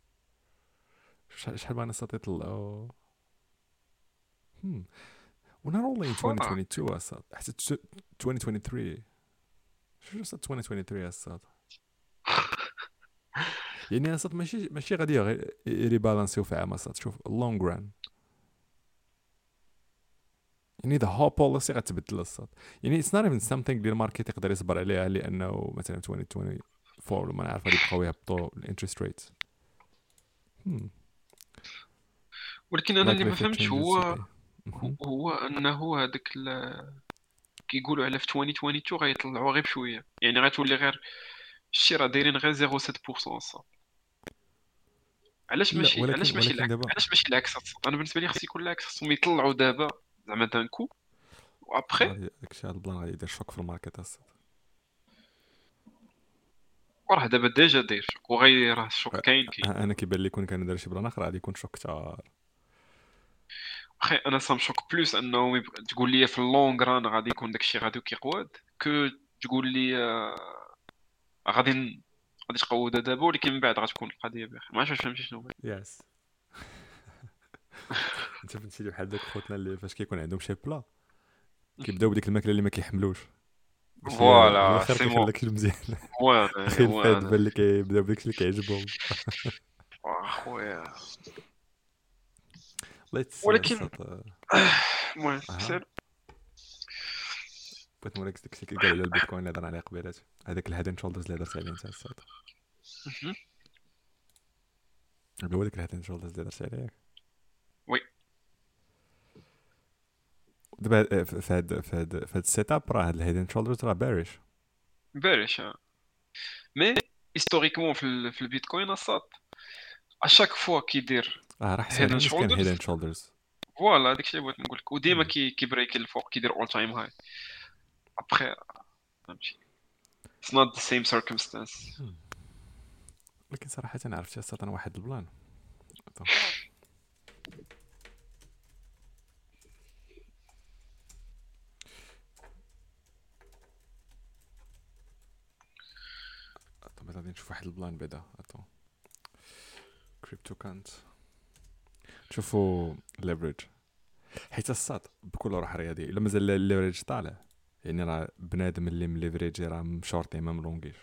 شحال بغا نسات يطلعوا hmm و not only in فا twenty twenty-two أصاد حتى twenty twenty-three. شو صات twenty twenty-three أصاد؟ يعني أصاد ماشي ماشي غادي غير يريبالانسيو في عام أصاد. شوف long run يعني the whole policy غتبدل أصاد. يعني it's not even something اللي الماركت يقدر يصبر عليها، لأنه مثلا twenty twenty-four لما نعرف غادي يبقاو يهبطوا الانترست ريت. hmm ولكن انا اللي likely ما if it فهمتش changes هو okay. هو Mhm. هو انه هذاك ال- كيقولوا على في ألفين واثنين وعشرين غيطلعوا غير بشويه، يعني غتولي غير الشراء دايرين غير صفر فاصلة سبعة بالمية الصاد. علاش لا ماشي ولكن علاش ماشي ولكن العكس دابا علاش ماشي العكس الصاد؟ انا بالنسبه لي خص يكون العكس، خصهم يطلعوا دابا زعما دان كو وابخي غادي داكشي هاد البلان غادي يدير شوك في الماركت أصاد. وراه دابا ديجا داير شوك وغير راه الشوك كاين كاين. انا كيبان لي كون كان دار شي بلان اخر غادي يكون شوك كثار. اخي انا سام شوك بلوس انه يب- تقول لي في اللونغ ران غادي يكون داكشي غادي كيقواد، كو تقول لي آه، غادي ن- غادي تقودها دابا ولكن من بعد غتكون القضيه بخير. ما عرفتش واش فهمتي شنو بغيت. يس انت فهمتي بحال دوك خوتنا اللي فاش كيكون عندهم شي بلا كيبداو بديك الماكله اللي ما كيحملوش باش ي- في فوالا الاخر سي كيخلي مو داكشي مزيان. هو انا اخي هو الفاد انا بان اللي كيبداو بداكشي اللي كيعجبهم. اخويا. ليتس ولكن صات. المهم اها سير. بغيت نوريك داكشي اللي قال على البيتكوين اللي هضرنا عليه قبيلات، هذاك الهيد شولدرز اللي هضرت عليه انت الصاد. مهم. هو داك الهيد شولدرز اللي هضرت عليه وي دابا في هاد في هاد في هاد السيت اب راه هاد الهيد شولدرز راه باريش. باريش. مي هيستوريكمون في ال- في البيتكوين الصاد اشاك فوا كيدير اه راه هيد حسن اند نيت كان شولدرز. هيد شولدرز. فوالا داكشي اللي بغيت نقول لك، وديما كي كيبريك الفوق كيدير اول تايم هاي ابخي فهمتي. It's not the same circumstance. لكن صراحه انا عرفت يا انا واحد البلان. طب. طب غادي نشوف واحد البلان بعدا اتو كريبتو كانت شوفوا ليفريج، حيت الصاد بكل روح رياضيه الا مازال الليفريج طالع يعني راه بنادم اللي من ليفريج راه مشورتي ما ملونغيش.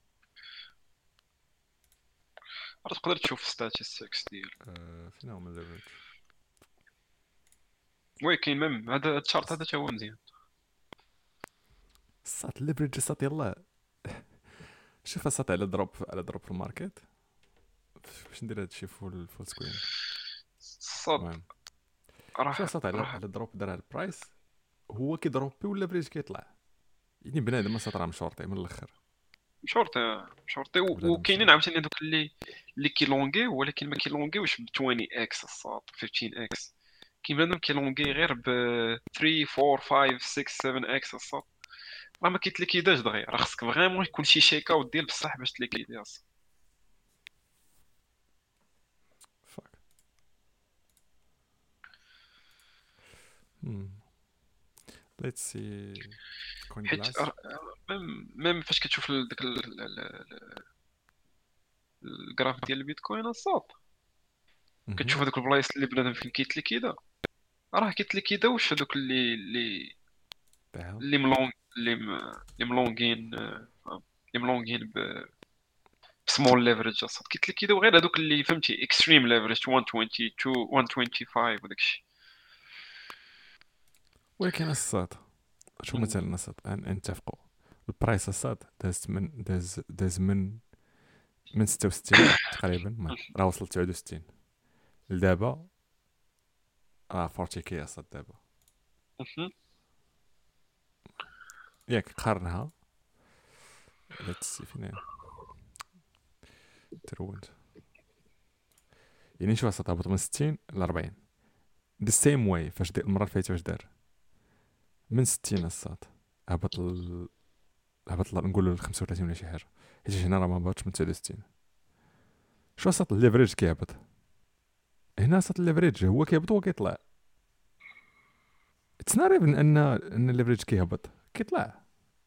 راه تقدر تشوف statistics ديال أه فين هما الليفريج؟ وي كاين ميم هذا الشارت هذا تا هو مزيان. الصاد الليفريج الصاد يلاه شوف الصاد على دروب على دروب في الماركت. باش ندير هادشي فول فول سكرين. الصاد المهم راه شوف الصاد على راه على دروب دار البرايس هو كيضروبي والليفريج كيطلع، يعني بنادم الصاد راه مشورتي من الاخر. شورتي شورتي و- بنادم وكاينين مشورتي عاوتاني دوك اللي اللي كيلونغي ولكن ما كيلونغيوش ب عشرين اكس الصاد خمسطاش اكس. كاين بنادم كيلونغي غير ب ثلاثة أربعة خمسة ستة سبعة اكس الصاد. راه ما كيتليكيداش دغيا، راه خصك فريمون يكون شي شيك اوت ديال بصح باش تليكيدي الصاد. فاك Hmm. Let's see. Coin حيت glass. ميم ميم فاش كتشوف ال- داك ال- ال- ال- الجراف ديال البيتكوين الصاد Mhm. كتشوف هذوك البلايص اللي بنادم فين كيتليكيدا، راه كيتليكيداوش هذوك اللي اللي The hell. اللي ملونغ اللي م... اللي ملونغين آه، فاهم؟ اللي ملونغين ب سمول ليفرج اصاحبي. قلت لك كيداو غير هذوك اللي فهمتي اكستريم ليفرج مية وعشرين اثنين مية وخمسة وعشرين وداك الشيء. ولكن الصاد شو مم. مثلا الصاد نتفقوا البرايس الصاد داز من داز داز من من ستة وستين تقريبا، المهم راه وصل تسعة وستين لدابا، راه أربعين كي الصاد دابا. مهم. ياك قارنها ليتس سي فين ترونت، يعني شو الصاد هبط من ستين ل أربعين ذا سيم واي. فاش دي المره اللي فاتت واش دار من ستين الصاد هبط ل... هبط ل- نقولوا ل خمسة وثلاثين ولا شي حاجه، حيت هنا راه ما هبطش من تسعة وستين. شو الصاد الليفريج كيهبط هنا، الصاد الليفريج هو كيهبط هو كيطلع. اتس نوت ايفن ان ان الليفريج كيهبط كيطلع.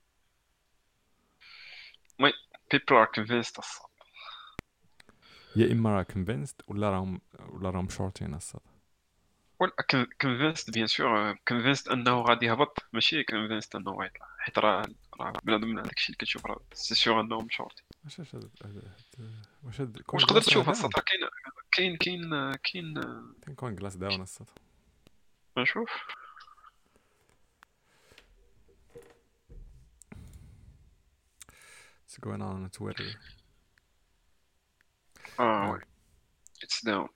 وي people are convinced اصاحبي. يا اما راه كونفينست ولا راهم ولا راهم شورتين الصاد. ولا convinced بيان سور convinced انه غادي يهبط، ماشي convinced انه غيطلع، حيت راه راه بنادم من هذاك الشيء اللي كتشوف راه سي سور انه مشورتي. واش هاد هاد- هاد- واش هاد كوين واش تقدر جلاس راه تشوف داون؟ السطر؟ كاين كاين كاين كاين كاين كوين جلاس داون الصاد. نشوف. What's going on on Twitter? اه وي آه. اتس داون.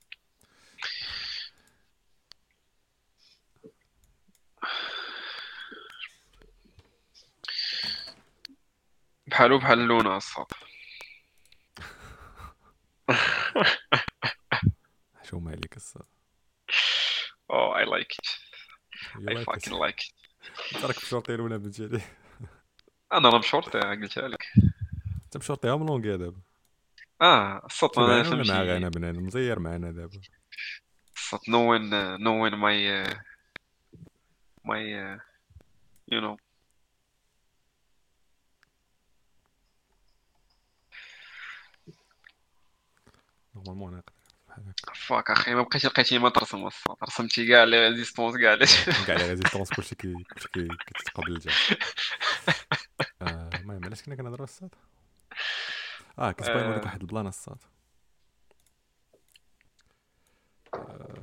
بحالو بحال اللون الصاد. شو مالك الصاد؟ Oh, I like it. You I like it. fucking like it. انت راك بشورطي ولا بنتي عليه؟ انا راه مشورتي قلتها لك. انت بشورطيها ملونغي دابا. اه الصوت انت انا معنا ولا مع فهمتي. غانا بنان مزير معنا دابا؟ الصوت knowing uh, knowing my uh, my uh, you know. نورمالمون انا بحال هكا فاك اخي ما بقيتي لقيتي ما ترسم الصوت، رسمتي كاع لي ريزيستونس كاع لي. كاع لي ريزيستونس كلشي كي كلشي كي كيتقبل جا. آه، المهم علاش كنا كنهضروا الصاد؟ اه كنت باغي نوريك آه، واحد البلان الصاد. آه،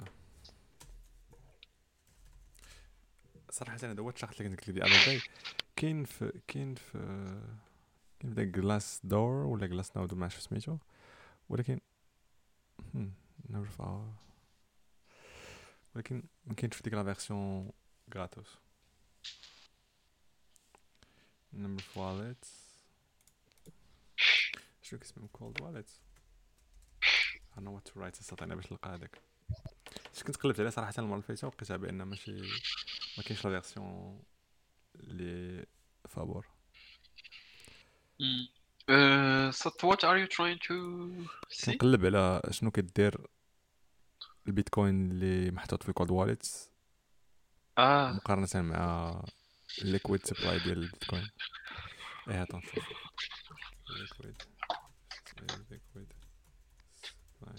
صراحه انا هو الشخص اللي كنت قلت لك دي اذر داي، كاين في كاين في كاين في داك جلاس دور ولا جلاس ناود ما عرفتش سميتو، ولكن هم، نعرف آه. ولكن ما كاينش في ديك لا فيرسيون غراتوس. نمبر واليت شنو كيسميو كولد واليت I know what to write استطعنا باش نلقى هذاك. اش كنت قلبت عليه صراحه المره اللي فاتت ولقيتها بان ماشي ما كاينش لا فيرسيون لي فابور. مم. آه، so what are you trying to see? كنقلب على شنو كدير البيتكوين اللي محطوط في كولد واليت اه مقارنه مع الليكويد سبلاي ديال البيتكوين. ايه هات نشوف ليكويد ليكويد سبلاي.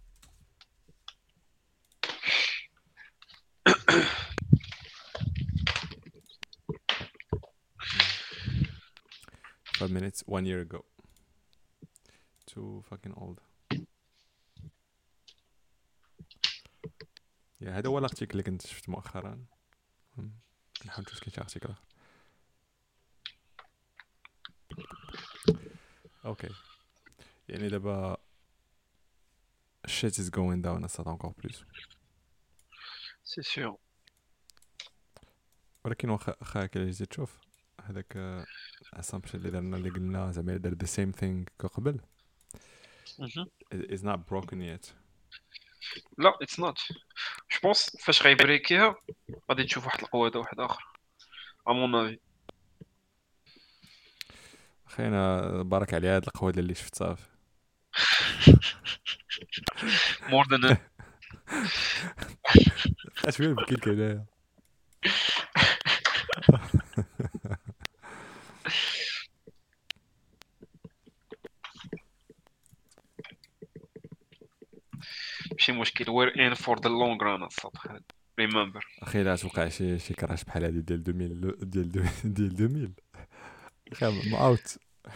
five minutes one year ago. Too fucking old. يا هذا هو الارتيكل اللي كنت شفت مؤخرا. هم، نحاول نشوف كاين شي ارتيكل اخر. اوكي يعني دابا shit is going down اصلا encore plus. سي سور. ولكن واخا واخا هكا جيتي تشوف هذاك assumption اللي درنا اللي قلنا زعما دار the same thing كقبل is not broken yet. لا اتس نوت. جو بونس فاش غيبريكيها غادي تشوف واحد القوه واحد اخر ا مون افي. اخي انا بارك على هاد القهوه اللي شفت صافي. مور ذان بقى شويه بكيت هنايا. ماشي مشكل. وير ان فور ذا لونغ ران الصبح. ريمبر. اخي لا توقع شي شي كراش بحال هادي ديال ألفين ديال دو- ديال ألفين اخي ام اوت.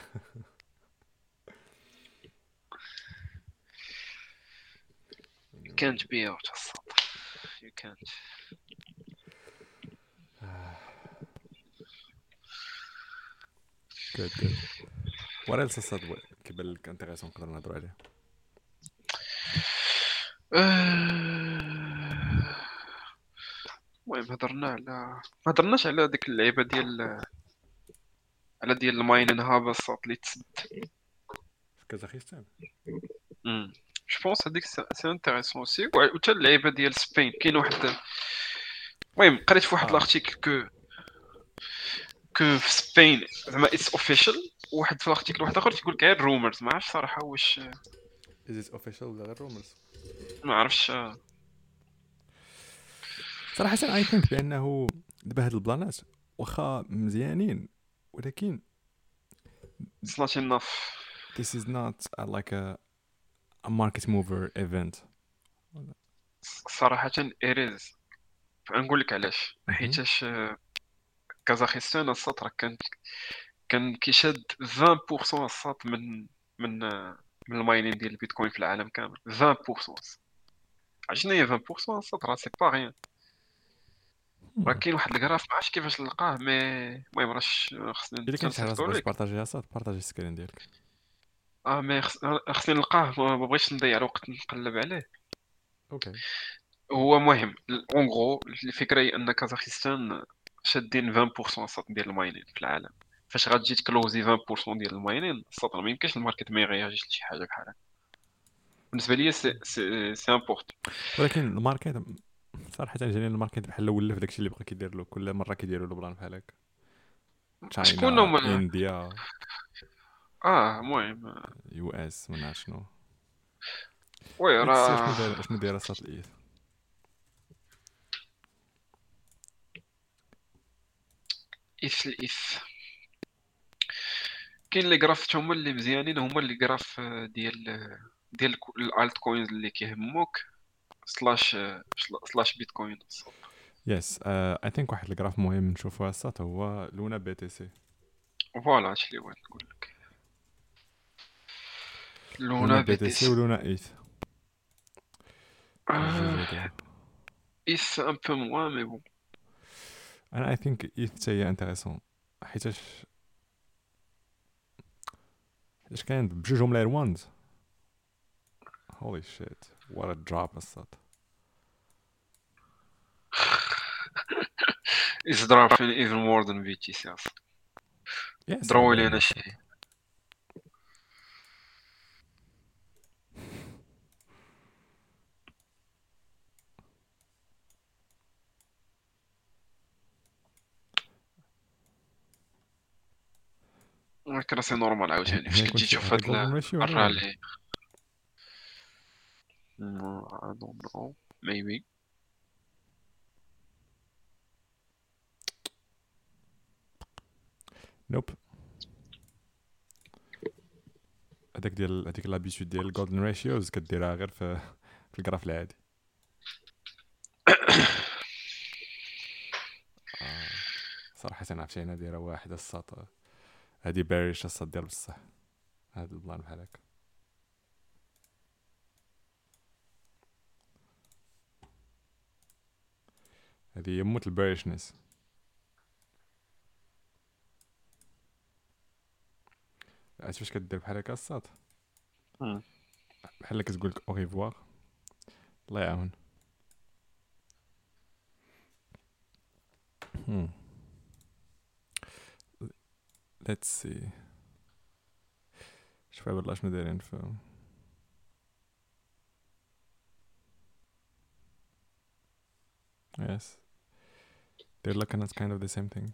You can't be out الصاد. You can't. جود جود. وات ايلس الصاد كيبان لك انتريسون نقدر نهضروا عليه؟ آه، المهم هضرنا على ما هضرناش على ديك اللعيبه ديال على ديال الماينين هابا الصاد اللي تسد. في كازاخستان جو بونس هذيك سي انتريسون اوسي. وحتى اللعيبه ديال سبين كاين واحد. المهم قريت في واحد اه الارتيكل كو كو في سبين زعما اتس اوفيشال. واحد في الارتيكل واحد اخر تيقول لك غير رومرز. ما عرفتش صراحه واش از ات اوفيشال ولا غير رومرز؟ ما عرفتش. صراحه اي ثينك بانه دابا هاد البلانات واخا مزيانين ولكن It's not enough. this is not a, like a, a market mover event. صراحه اريز. نقول لك علاش. مهم. حيتاش كازاخستان السط راه كان كان كيشاد عشرين بالمية السط من من من الماينين ديال البيتكوين في العالم كامل. عشرين بالمية. عشان هي عشرين بالمية السط راه سي با غيان. راه كاين واحد الكراف ما عرفتش كيفاش نلقاه مي المهم راه ش- خصني الا كان شي حاجه نصيفطو تبغي لك. تبارطاجيها صاد بارطاجي السكرين ديالك. اه مي خص- خصني نلقاه. ما ما بغيتش نضيع الوقت نقلب عليه. اوكي هو مهم اون غرو الفكره هي ان كازاخستان شادين عشرين بالمية السط ديال الماينين في العالم. فاش غتجي تكلوزي عشرين بالمية ديال الماينين السط ما يمكنش الماركت ما يغياجيش لشي حاجه بحال هكا. بالنسبه ليا سي سي سي امبورط. ولكن الماركت صراحه جاني الماركت بحال ولف داكشي اللي بقى كيدير له كل مره كيديروا له بلان بحال هكا. شكون تشاينا هما؟ انديا اه المهم يو اس ما نعرف شنو. وي ليتس سي شنو راه داير شنو داير صات الايث. ايث الايث. كاين لي جراف هما اللي مزيانين. هما اللي جراف ديال ديال الالت كوينز اللي كيهموك سلاش سلاش بيتكوين. يس اي ثينك واحد الجراف مهم نشوفوها صات هو لونا بي تي سي. فوالا هادشي اللي بغيت نقول لك. لونا لونا بي بي تي تي سي سي. ولونا ايث الجوج آه هادو. ايث ان بو موان مي بون. انا اي ثينك ايث حتى هي انتريسون حيتاش حيتاش كاين بجوجهم لاير وانز. هولي شيت وات ا دروب الصاد. It's dropping even more than بي تي سي اصلا. يس ضروري لي باين انا الصاد. شي. ولكن راه سي نورمال عاوتاني فاش هي كتجي كنت تشوف هذا هاد جولدن ريشيو هذا ولا؟ الرالي. No, I don't know. Maybe. نوب. هذاك ديال هذيك لابيتود ديال الجولدن ريشيوز كديرها غير في في الجراف العادي. آه. صراحه انا عرفتي انا دايره واحد الساط هادي باريش الساط ديال بصح هاد البلان بحال هكا. هادي هي موت الباريشنس. عرفت فاش كدير بحال هكا الساط بحال كتقول لك او ريفوار الله يعاون. Hmm. Let's see. شوف والله شنو دايرين في yes they're looking at kind of the same thing.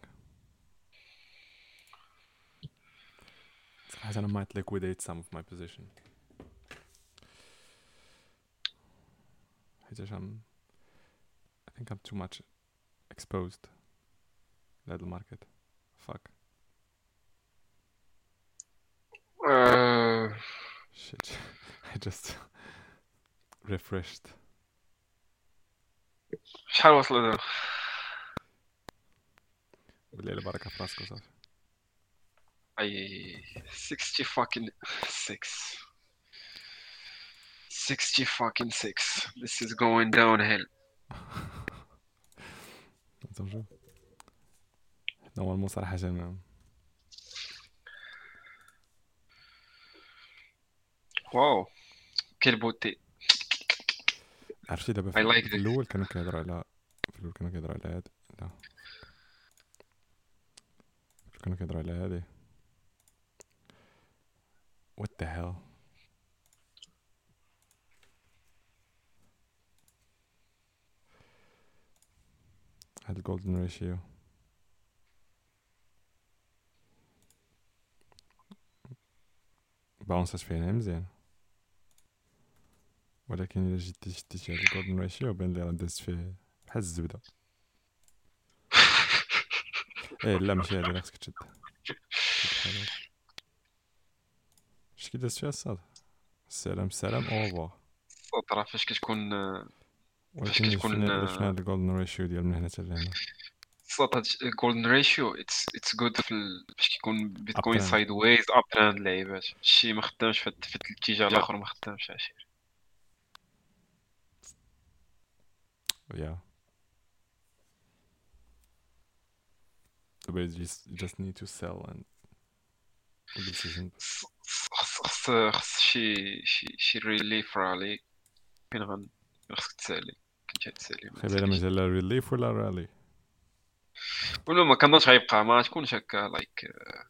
صراحة أنا might liquidate some of my position حيتاش I'm I think I'm too much exposed لهاد الماركت. fuck Uh, shit I just refreshed. شحال وصلوا دابا؟ بالليل بركه في راسك وصافي. اي ستين fucking six. sixty fucking six. This is going downhill. نشوف. نورمالمون صراحه ما واو quelle beauté. عرفتي دابا I في like في this. الاول كانوا كيهضروا على في الاول كانوا كيهضروا على هاد لا كانوا كيهضروا على هادي what the hell هاد الجولدن ريشيو باونسات فيها مزيان، ولكن الا جيتي شديتي هاد الجولدن ريشيو بان لي راه دازت فيه بحال الزبده. ايه لا ماشي هادي اللي خصك تشد، تشد بحال هادي. اش كي دازت فيها الصاد؟ السلام السلام او ريفوار. الصوت راه فاش كتكون فاش ولكن الا كتكون شفنا الا شفنا هاد الجولدن ريشيو ديال من هنا حتى لهنا الصوت هاد الجولدن ريشيو اتس اتس جود في ال- فاش كيكون اب بيتكوين ترند. سايد ويز اب ترند اللعيبات شي ما خدامش في في الاتجاه الاخر ما خدامش عشير. Yeah. So basically, you just, you just need to sell and بالسيزون. خص خص خص خص شي شي شي ريليف رالي فين غن فين خصك تسالي كنتي تسالي ما خيب على تساليش. مجال ريليف ولا رالي؟ ولا ما كنظنش غيبقى ما تكونش هكا لايك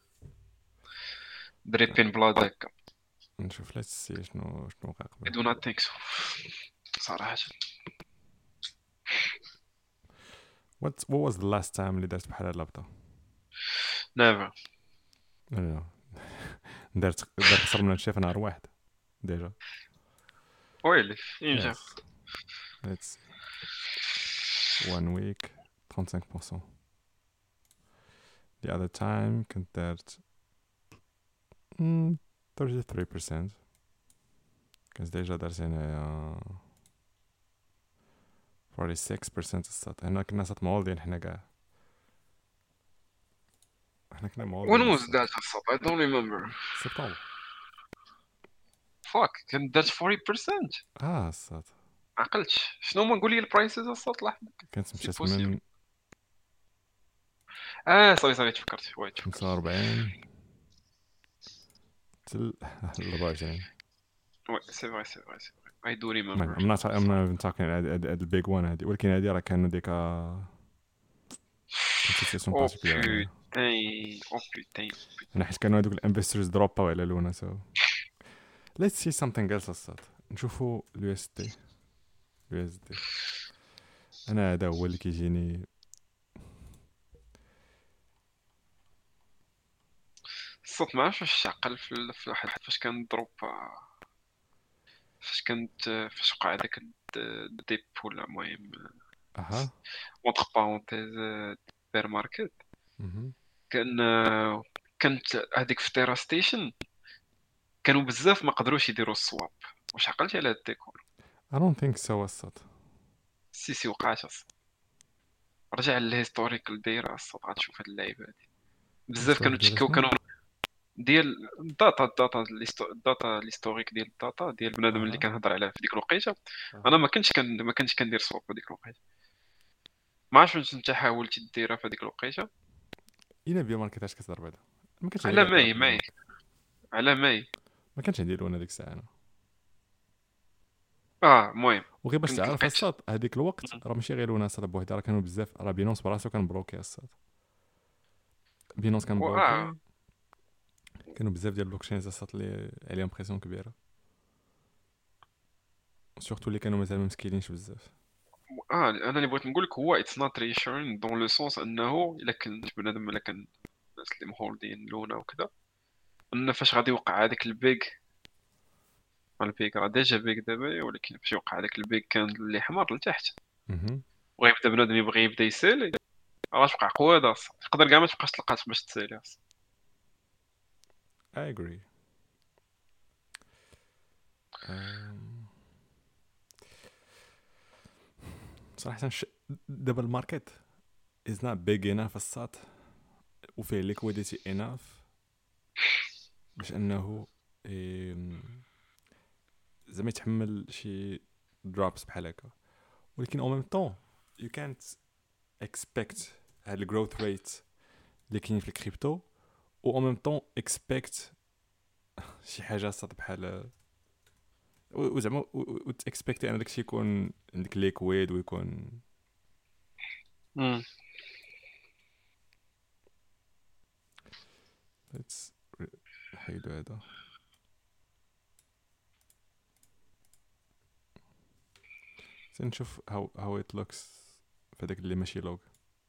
دريبين بلاد هكا. نشوف لا تسي شنو شنو وقع I قبل. do not think so صراحة. What what was the last time اللي درت بحال هاد اللعبة؟ never. No no no. درت درت أكثر من هادشي في نهار واحد ديجا. ويلي فين جا؟ Yes. Let's see. One week thirty-five percent. The other time كنت درت mm, thirty-three percent. كنت ديجا درت هنايا forty-six percent الصاد. هنا كنا صات مولدين حنا كاع. حنا كنا When مولدين was الصاد. that الصوت؟ I don't remember. سبتمبر. fuck كان درت forty percent. اه الصاد. عقلتش شنو ما نقول لي البرايسز الصوت لحظة. كانت سي مشات بوسيبل. من اه صافي صافي تفكرت وي تفكرت. خمسة وأربعين تل أربعة وعشرين. وي سي فري سي فري سي فري I do المهم remember. I'm not I'm not even talking هاد هاد البيج وان هادي، ولكن هادي راه كانوا ديك كانت سيتياسيون او بارتيكولير هنايا. بوتين او بوتين. انا حيت كانوا هادوك الانفسترز دروباو على لونا. سو let's see something else الصاد. نشوفوا اليو اس دي. اليو اس دي انا هذا هو اللي كيجيني. الصوت ما عرفتش واش عقل في ال- في واحد فاش كان دروب فاش كانت فاش وقع هذاك الديب ولا المهم اها اونتر بارونتيز بير ماركت. اها كان كانت هذيك في تيرا ستيشن كانوا بزاف ما قدروش يديروا الصواب. واش عقلتي على هاد الديكور؟ I don't think so الصاد. سي سي وقعت الصوت. رجع للهيستوريكال دايره الصوت غتشوف هاد اللعيبه هادي بزاف كانوا الستوري ديال تشكاو شنو؟ كانوا ديال الداتا الداتا الهيستو- الداتا الهيستوريك ديال الداتا ديال بنادم اللي اها كنهضر عليه في ديك الوقيته. اها انا ما كنتش كان ما كنتش كندير صواب في ديك الوقيته. ما عرفتش واش انت حاولتي ديرها في هذيك الوقيته. الى بيو ماركت اش كتهضر بعدا؟ ما كانش عندي على كاع طلع ماي في بيو ماي ماركت. على ماي ما كانش عندي لونا ديك الساعه انا. اه المهم وغير باش كنت تعرف لقيت. الصاد هذيك الوقت راه ماشي غير لونا صاد بوحدها، راه كانوا بزاف، راه بينونس براسو كان بلوكي الصاد. بينونس كان و- اه بلوكي. كانوا بزاف ديال البلوكشينز الصاد اللي عليهم بريسيون كبيره، سورتو اللي كانوا مازال ما مسكينينش بزاف. اه انا اللي بغيت نقول لك هو اتس نوت ريشورين دون لو سونس انه الا كان بنادم الا كان الناس اللي مهولدين لونا وكذا ان فاش غادي يوقع هذاك البيك. البيك راه ديجا بيك دابا ولكن فاش يوقع هذاك البيك كان اللي حمر لتحت اها وغيبدا بنادم يبغي يبدا يسالي راه غتوقع قواده اصلا تقدر كاع ما تبقاش تلقات باش تسالي اصلا. I agree. um, صراحه ش... دابا الماركت is not big enough الساط وفيه liquidity enough باش انه إيه... زعما يتحمل شي drops بحال هكا. ولكن او ميم طون you can't expect هاد الجروث ريت اللي كاين في الكريبتو و او ميم طون expect شي حاجه صاد بحال وزعما وتاكسبكت ان داكشي يكون عندك ليكويد ويكون امم let's نحيدو هذا. نشوف how how it looks في داك اللي ماشي لوج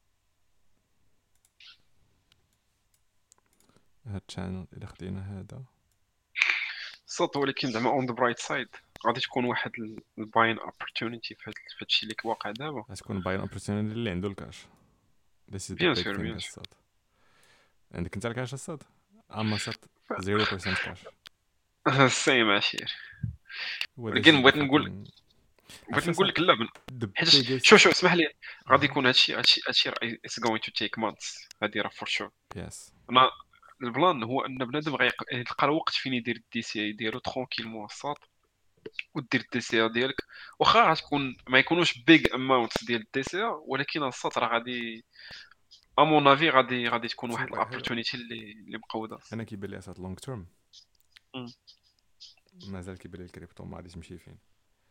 هاد الشانل. الا خدينا هذا صوت، ولكن زعما اون ذا برايت سايد غادي تكون واحد الباين اوبورتونيتي في هذا الشيء اللي واقع دابا. غتكون باين اوبورتونيتي اللي عنده الكاش. this is the بيان big سور thing بيان سور. الصاد. عندك انت الكاش الصاد؟ اما صاد zero percent كاش. سيم عشير. هو ولكن بغيت نقول بغيت نقول لك لا حيت شوف شوف اسمح لي غادي يكون هادشي هادشي هادشي اتس غوين تو تيك مانثs هادي راه فور شور. يس انا البلان هو ان بنادم غيلقى الوقت فين يدير الدي سي اي ديالو ترونكيلمون الساط ودير الدي سي ديالك واخا غتكون ما يكونوش بيج اماونتس ديال الدي سي ولكن الساط راه غادي امون افي غادي غادي تكون واحد الاوبورتونيتي اللي اللي مقوده. انا كيبان لي اسات لونغ تيرم مازال كيبان لي الكريبتو ما غاديش تمشي فين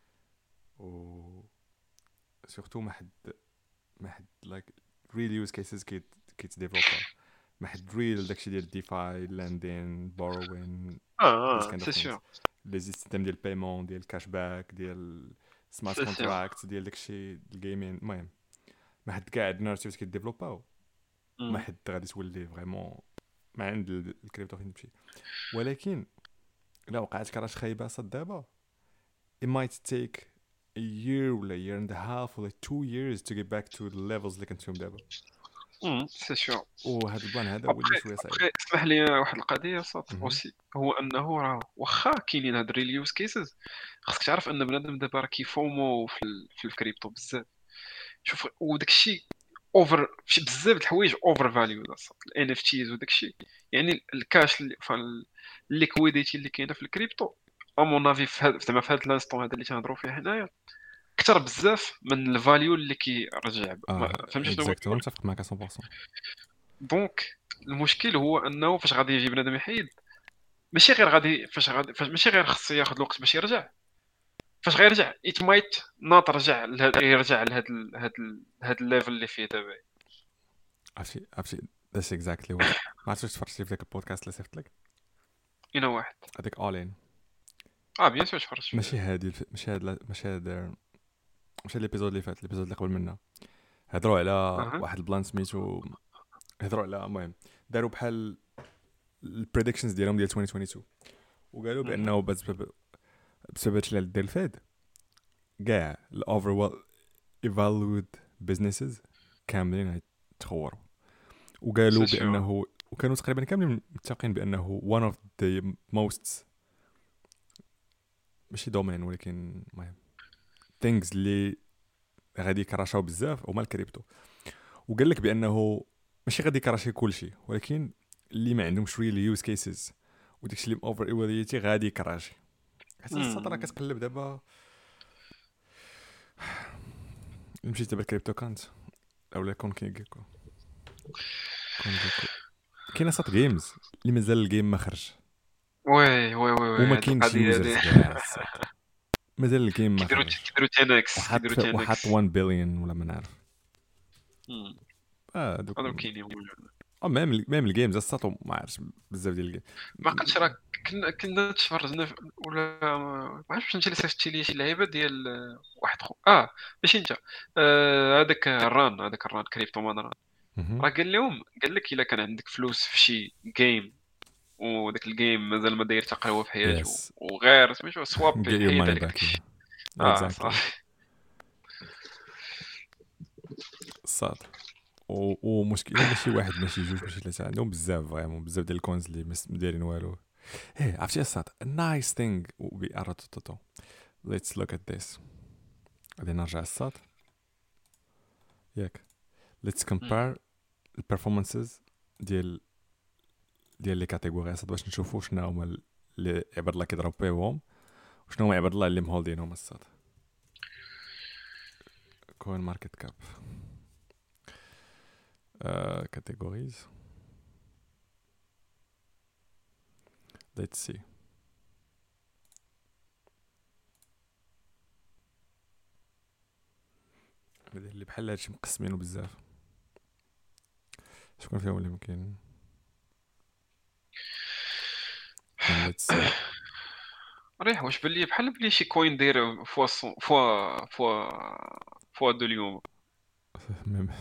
و سورتو ما حد ما حد لايك ريل يوز كيسز كيت كيتديفلوب ما حد ريل داكشي ديال ديفاي لاندين بوروين اه سي سور لي سيستيم ديال بايمون ديال كاش باك ديال سمارت كونتراكت ديال داكشي الجيمين. المهم ما حد قاعد نارتيفز كيديفلوباو ما حد غادي تولي فريمون ما عند الكريبتو فين تمشي. ولكن الا وقعت كراش خايبه صد دابا it might take a year ولا year and a half ولا two years to get back to the levels اللي كنت فيهم دابا. امم سي سور. وهذا البلان هذا هو اللي شويه صعيب. اسمح لي واحد القضيه صوت اوسي هو انه راه واخا كاينين هاد الريل يوز كيسز خاصك تعرف ان بنادم دابا راه كيفومو في ال... في الكريبتو بزاف. شوف وداك الشيء اوفر في بزاف د الحوايج اوفر فاليو الان اف تيز وداك الشيء يعني الكاش اللي الليكويديتي اللي كاينه في الكريبتو امون افي زعما في هذا الانستون هذا اللي تنهضروا فيه هنايا اكثر بزاف من الفاليو اللي كيرجع. آه فهمتي شنو اكزاكتومون متفق معك مية بالمية. دونك المشكل هو انه فاش غادي يجي بنادم يحيد ماشي غير غادي فاش غادي فاش ماشي غير خصو ياخذ الوقت باش يرجع فاش غيرجع ات مايت ناط رجع لهاد يرجع لهاد هاد هاد الليفل اللي فيه دابا. عرفتي عرفتي ذاتس اكزاكتلي واش ما عرفتش تفرجتي في ذاك البودكاست اللي صيفط لك اين واحد هذاك اولين. اه بيان سور تفرجت ماشي هادي ماشي هاد ماشي هاد ماشي الابيزود اللي فات الابيزود اللي قبل منه هضروا على أه. واحد البلان سميتو هضروا على المهم داروا بحال البريدكشنز ديالهم ديال ألفين واثنين وعشرين وقالوا بانه بسبب بسبب هادشي اللي دار الفاد كاع الاوفر ايفالويد بزنسز كاملين يتخوروا. وقالوا بانه وكانوا تقريبا كاملين متفقين بانه one of the most ماشي دومين ولكن المهم things اللي غادي يكراشاو بزاف هما الكريبتو. وقال لك بانه ماشي غادي يكراشي كلشي ولكن اللي ما عندهمش ريل يوز كيسز وداكشي اللي اوفر ايفالويتي غادي يكراشي. حتى السطر كتقلب دابا مشيت دابا الكريبتو كانت اولا كون كيكو كون كيكو كاين صات جيمز اللي مازال الجيم ما خرج. وي وي وي وما كاينش يوزرز مازال الجيم ما خرج. كيديروا تنكس كيديروا تنكس وحط واحد بليون ولا ما نعرف. اه دوك هادو كاينين اه ميم ميم الجيمز الساطو ما عرفتش بزاف ديال الجيم ما قلتش راه كنا كنا تفرجنا ولا ما عرفتش انت اللي صيفطتي لي شي لعيبه ديال واحد خو اه ماشي انت هذاك آه الران هذاك الران كريبتو مان ران راه قال لهم قال لك الا كان عندك فلوس في شي جيم وداك الجيم مازال ما داير تقريبا في حياته yes. وغير سميتو سواب حيد هذاك اه صافي صاد ومشكله ماشي واحد ماشي جوج ماشي ثلاثه عندهم بزاف فريمون بزاف ديال الكونز اللي ما دايرين والو. ايه عرفتي الصاد نايس ثينغ بي اراتوتو. ليتس لوك ات ذيس غادي نرجع الصاد ياك let's مم. compare البرفورمانسز ديال ديال لي كاتيجوري اصاط باش نشوفوا شنو هما اللي عباد الله كيضرب بهم وشنو هما عباد الله اللي مهولدينهم اصاط. كوين ماركت كاب كاتيجوريز let's see. اللي بحال هادشي مقسمينه بزاف شكون فيهم اللي ممكن let's see. ريح واش بلي بحال بلي شي كوين داير فوا صو- فوا فوا فوا دو اليوم. ميم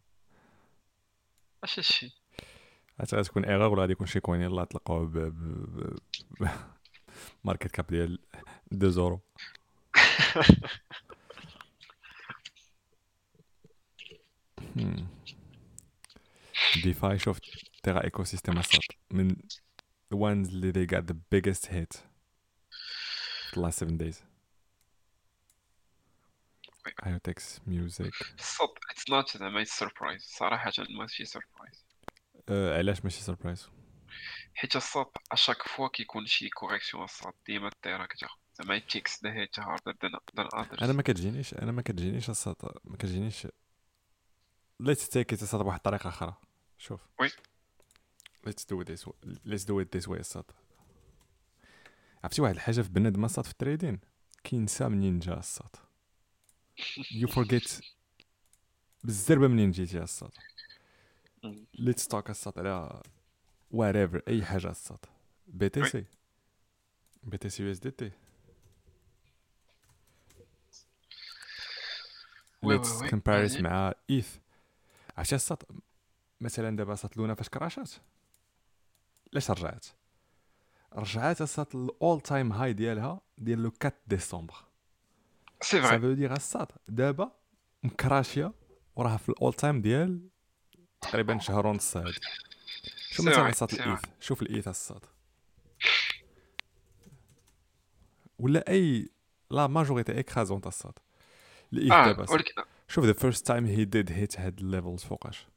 اش هادشي؟ عاد غتكون ايرور ولا غادي يكون شي كوين يلاه طلقوه ب ب- ب- ماركت كاب ديال اثنين زورو. هم. ديفاي شوف تيرا ايكو سيستم اصاط من the ones اللي they got the biggest hit في the last seven days. IoTeX music. الصوت اتس نوت زعما سربرايز صراحه، ماشي سربرايز. أه علاش ماشي سربرايز؟ حيت الصوت اشاك فوا كيكون شي كوريكسيون الصوت ديما الطيره كتاخد زعما تيكس ذا هيت هاردر ذان انا اذرز. ما كتجينيش انا ما كتجينيش الصاط ما كتجينيش let's take it الصاط بواحد الطريقه اخرى. شوف وي let's do it this way let's do it this way الصاط. عرفتي واحد الحاجه في بنادم الصاط في التريدين كينسى منين جا الصاط. you forget بالزربه منين جيتي الصاط. let's talk الصاط على whatever اي حاجه الصاط. بي تي وي سي بي تي سي يو اس دي تي وي وي let's وي compare it هادي مع ايث. عرفتي الصاط مثلا دابا صات لونا فاش كراشات لاش رجعت رجعت الصاط الاول تايم هاي ديالها ديال لو أربعة ديسمبر. سي فري. سافو دير الصاط دابا مكراشيه وراها في الاول تايم ديال تقريبا شهر ونص هادي. شو سي مثلا فري الصاط سي فري. الايث شوف الايث الصاط ولا اي لا ماجوريتي اكرازونت الصاط الايث اه دابا الصاط. ولكن شوف ذا فيرست تايم هي ديد هيت هاد الليفلز فوقاش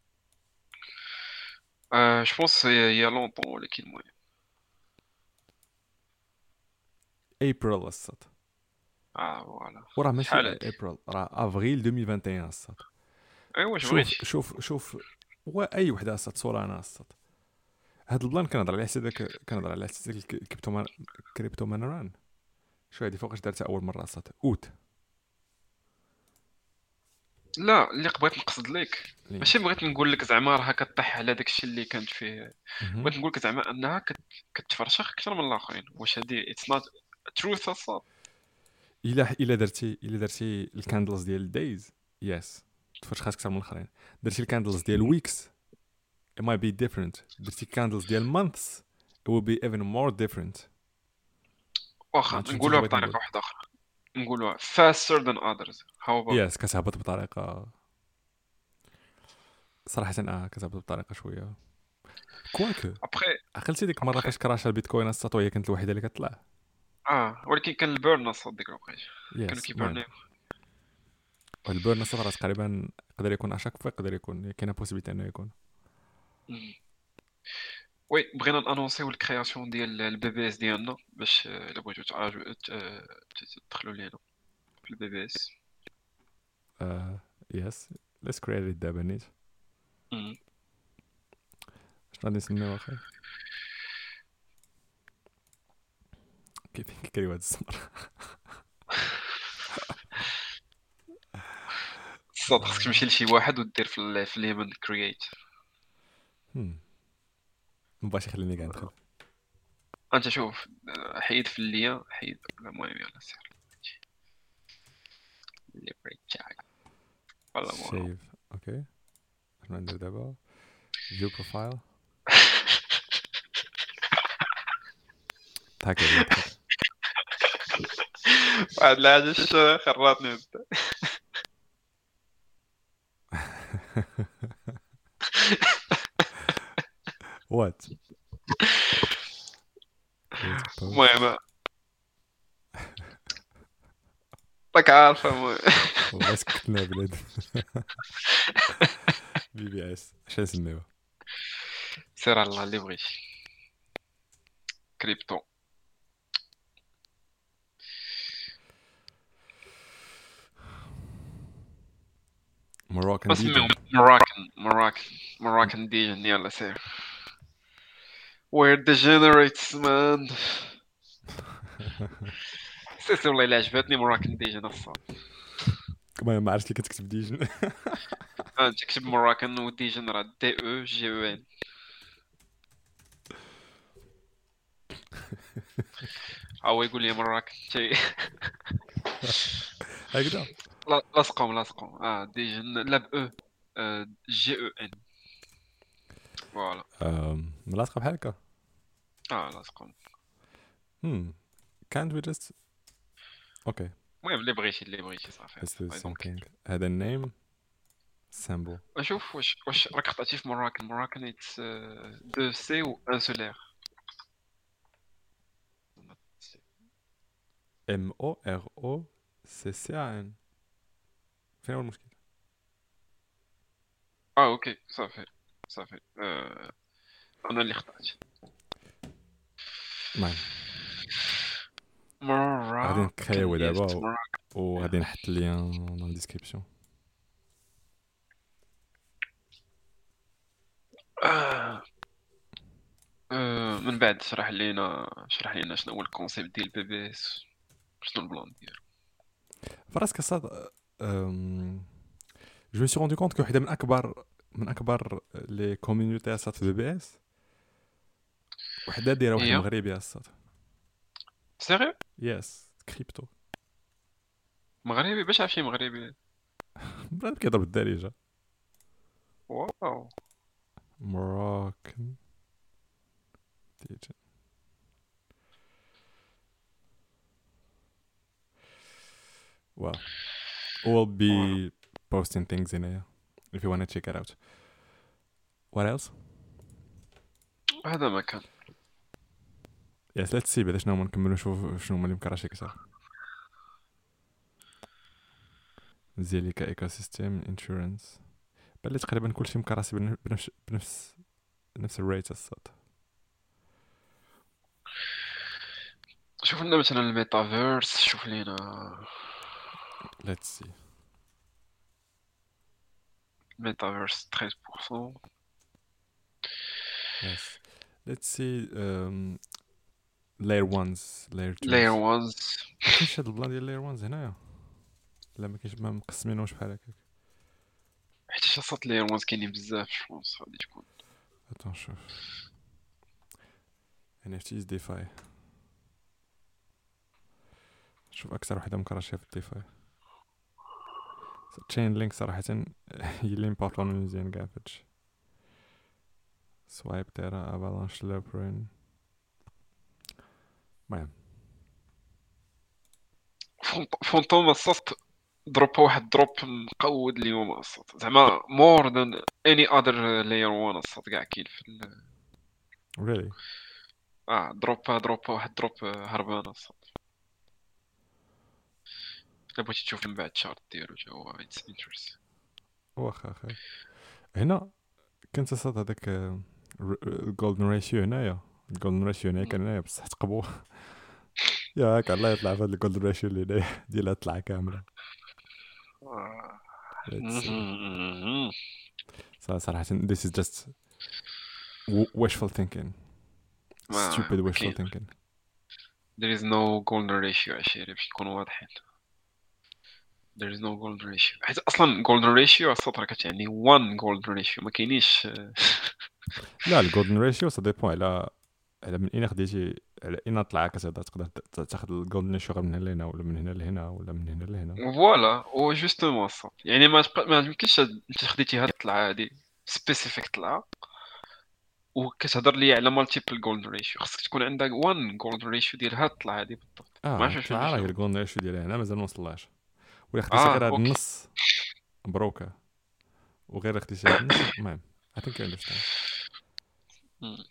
آه جو بونس يا لونطون، ولكن المهم ابريل الصاط اه فوالا. وراه ماشي شحال هادي؟ ابريل راه افريل ألفين وواحد وعشرين الصاط. ايوا واش شوف بغيتي. شوف شوف واي وحده الصاط سولانا الصاط. هاد البلان كنهضر على حساب داك كنهضر على حساب داك الكريبتو مان كريبتو مانران. شو هادي فوقاش دارتها اول مره الصاط اوت. لا اللي بغيت نقصد لك لي ماشي بغيت نقول لك زعما راها كطيح على داكشي اللي كانت فيه، مهم. بغيت نقول لك زعما انها كت... كتفرشخ اكثر من الاخرين. واش هادي اتس نوت تروث الصاد؟ الا الا درتي الا درتي الكاندلز ديال الدايز يس تفرشخات اكثر من الاخرين. درتي الكاندلز ديال ويكس it might be different. درتي كاندلز ديال months it will be even more different. ما واخا عرفتش فهمتي نقولوها اش بغيت بطريقه نقول. واحده اخرى، نقولوها faster than others. how about يس كتهبط بطريقه صراحه اه كتهبط بطريقه شويه كواكو. ابخي عقلتي ديك المره ابخي فاش كراش البيتكوين السطو هي كانت الوحيده اللي كتطلع. اه ولكن كان البيرن الصاد ديك الوقيته كانوا يس المهم كيبرنيو. والبيرن السطر تقريبا يقدر يكون اشاك فوا يقدر يكون كاينه بوسيبيتي انه يكون. مم. وي بغينا نانونسيو الكرياسيون ديال البي بي اس ديالنا باش آه، الا بغيتو تعاجو- ت- آه، ت- تدخلوا لينا في البي بي اس. آه يس ليتس كريت دابا نيت مم. شنو غادي نسميو اخي كيف كيكري هاد السمر. الصاد خصك تمشي لشي واحد ودير في ال- في اليمن كرييت. مبغاش يخليني كاع ندخل. انت شوف آه، حيد في الليا حيد. المهم يلا سير اللي بغيت تاعك ولا مو. شيف اوكي شنو ندير دابا فيو بروفايل ضحك عليا ضحك. واحد الحاجة ش- خراتني انت. وات كريت بوست المهم راك عارفة المهم والله سكتنا بلاد. بي بي اس اش نسميوها؟ سير على الله اللي بغيتي. كريبتو. Moroccan دي جي. اسميهم مراكن مراكن مراكن ديجن. يلا سير. We're degenerates man. سي سي والله الا عجبتني مراكن ديجن الصاد. كما ما عرفتش اللي كتكتب ديجن. اه تكتب مراكن وديجن راه دي او جي او ان. هو يقول لي مراكن شي. هكذا. لا- لاصقهم لاصقهم اه ديجن لا ب او آه، جي او ان. فوالا. أم، ملاصقه بحال هكا. اه لاصقهم. Hmm. Can't we just okay. المهم اللي بغيتي اللي بغيتي صافي. Let's do the I same don't care. thing. هذا النيم symbol. شوف واش واش راك خطأتي في مراكن. مراكن اتس دو سي و ان سولير. M O R O C C A N. فين هو المشكل؟ اه اوكي صافي صافي. آه. انا اللي خطأت. المهم غادي مراكن نكريو يس دابا مراكن. وغادي نحط اللين dans la description. آه. آه. من بعد شرح لينا شرح لينا شنو هو الكونسيبت ديال بي بي اس. شنو البلان ديالو. فراسك الصاد. أم... جو مي سي روندو كونت كو وحده من اكبر من اكبر لي كوميونيتي الصاد في بي بي اس وحده دايره واحد هي مغربي الصاد. سيريو. يس كريبتو. مغربي باش عرفتي مغربي. بنادم كيضرب الدارجه. واو. Moroccan ديجن. Well, we'll فوالا. be posting things in here if you want to check it out. What else? هذا ما كان. Yes, let's see بعدا شنو هما نكملو نشوف شنو هما اللي مكرهش كثر. زيليكا ايكو سيستم انشورنس. بلي تقريبا كلشي مكراسي بن- بنفس بنفس نفس الريت الصاد. شوف لنا مثلا الميتافيرس. شوف لينا Let's see. الميتافيرس ثلاثة عشر بالمية. Yes. Let's see um, layer ones, layer twos. لاير وانز. ما كاينش هاد البلان ديال layer ones هنايا. لا ما كاينش ما مقسمينوش بحال هكاك. حيت شاصات لاير وانز كاينين بزاف جوبونس غادي تكون. Attends شوف. إن إف تيز DeFi. شوف اكثر وحده مكراشيه في الديفاي. تشين لينك صراحه هي اللي امبورطون مزيان كاع فهادشي. سوايب تيرا افالانش لوبرين. المهم فونت- فونتوم الصوت دروب واحد دروب مقود اليوم الصوت زعما مور ذان اني اذر لاير وان الصوت كاع كاين في ال... really اه دروب دروب واحد دروب هربان الصوت. الا بغيتي تشوف من بعد الشارت ديالو تا هو اتس انتريست. واخا اخي. هنا كنت صاد هذاك الجولدن ريشيو هنايا. الجولدن ريشيو هنايا كان هنايا بصح تقبو. ياك الله يطلع في هاد الجولدن ريشيو اللي هنايا ديالها طلع كامله. Let's see. صراحه صراحة this is just w- wishful thinking. ما stupid ما wishful كاين. thinking. there is no golden ratio عشيري باش نكونوا واضحين. there is no golden ratio حيت اصلا golden ratio الصوت راه كتعني one golden ratio ما كاينينش. لا الجولدن ريشيو سا ديبون على على من اين خديتي على اين طلع كذا تقدر ت- تاخذ الجولدن ريشيو غير من هنا لهنا ولا من هنا لهنا ولا من هنا لهنا. فوالا هو جوستومون الصوت يعني ما تبقى ما يمكنش انت خديتي هاد الطلعه هادي سبيسيفيك طلعه وكتهضر لي على مالتيبل جولدن ريشيو. خصك تكون عندك one golden ratio ديال هاد الطلعه هادي بالضبط. ما اه عرفتش فهمتي طلع راه هي شنو. الجولدن ريشيو ديالها هنا مازال ما وصلهاش ولا خديتي اه غير هاد اوكي. النص مبروكه وغير خديتي هاد النص. المهم I think I understand. مم.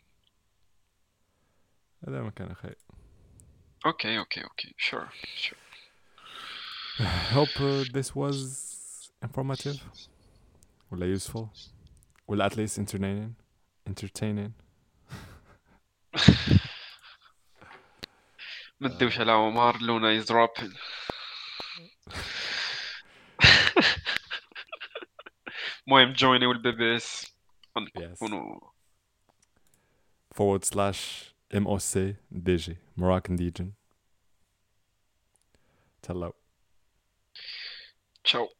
هذا ما كان اخي. اوكي اوكي اوكي شور شور. hope uh, this was informative ولا useful ولا at least entertaining entertaining ما تدوش على عمر لونا از dropping. المهم جويني والبي بي اس yes نكونوا forward slash M O C D G Moroccan Legion. Hello. تشاو.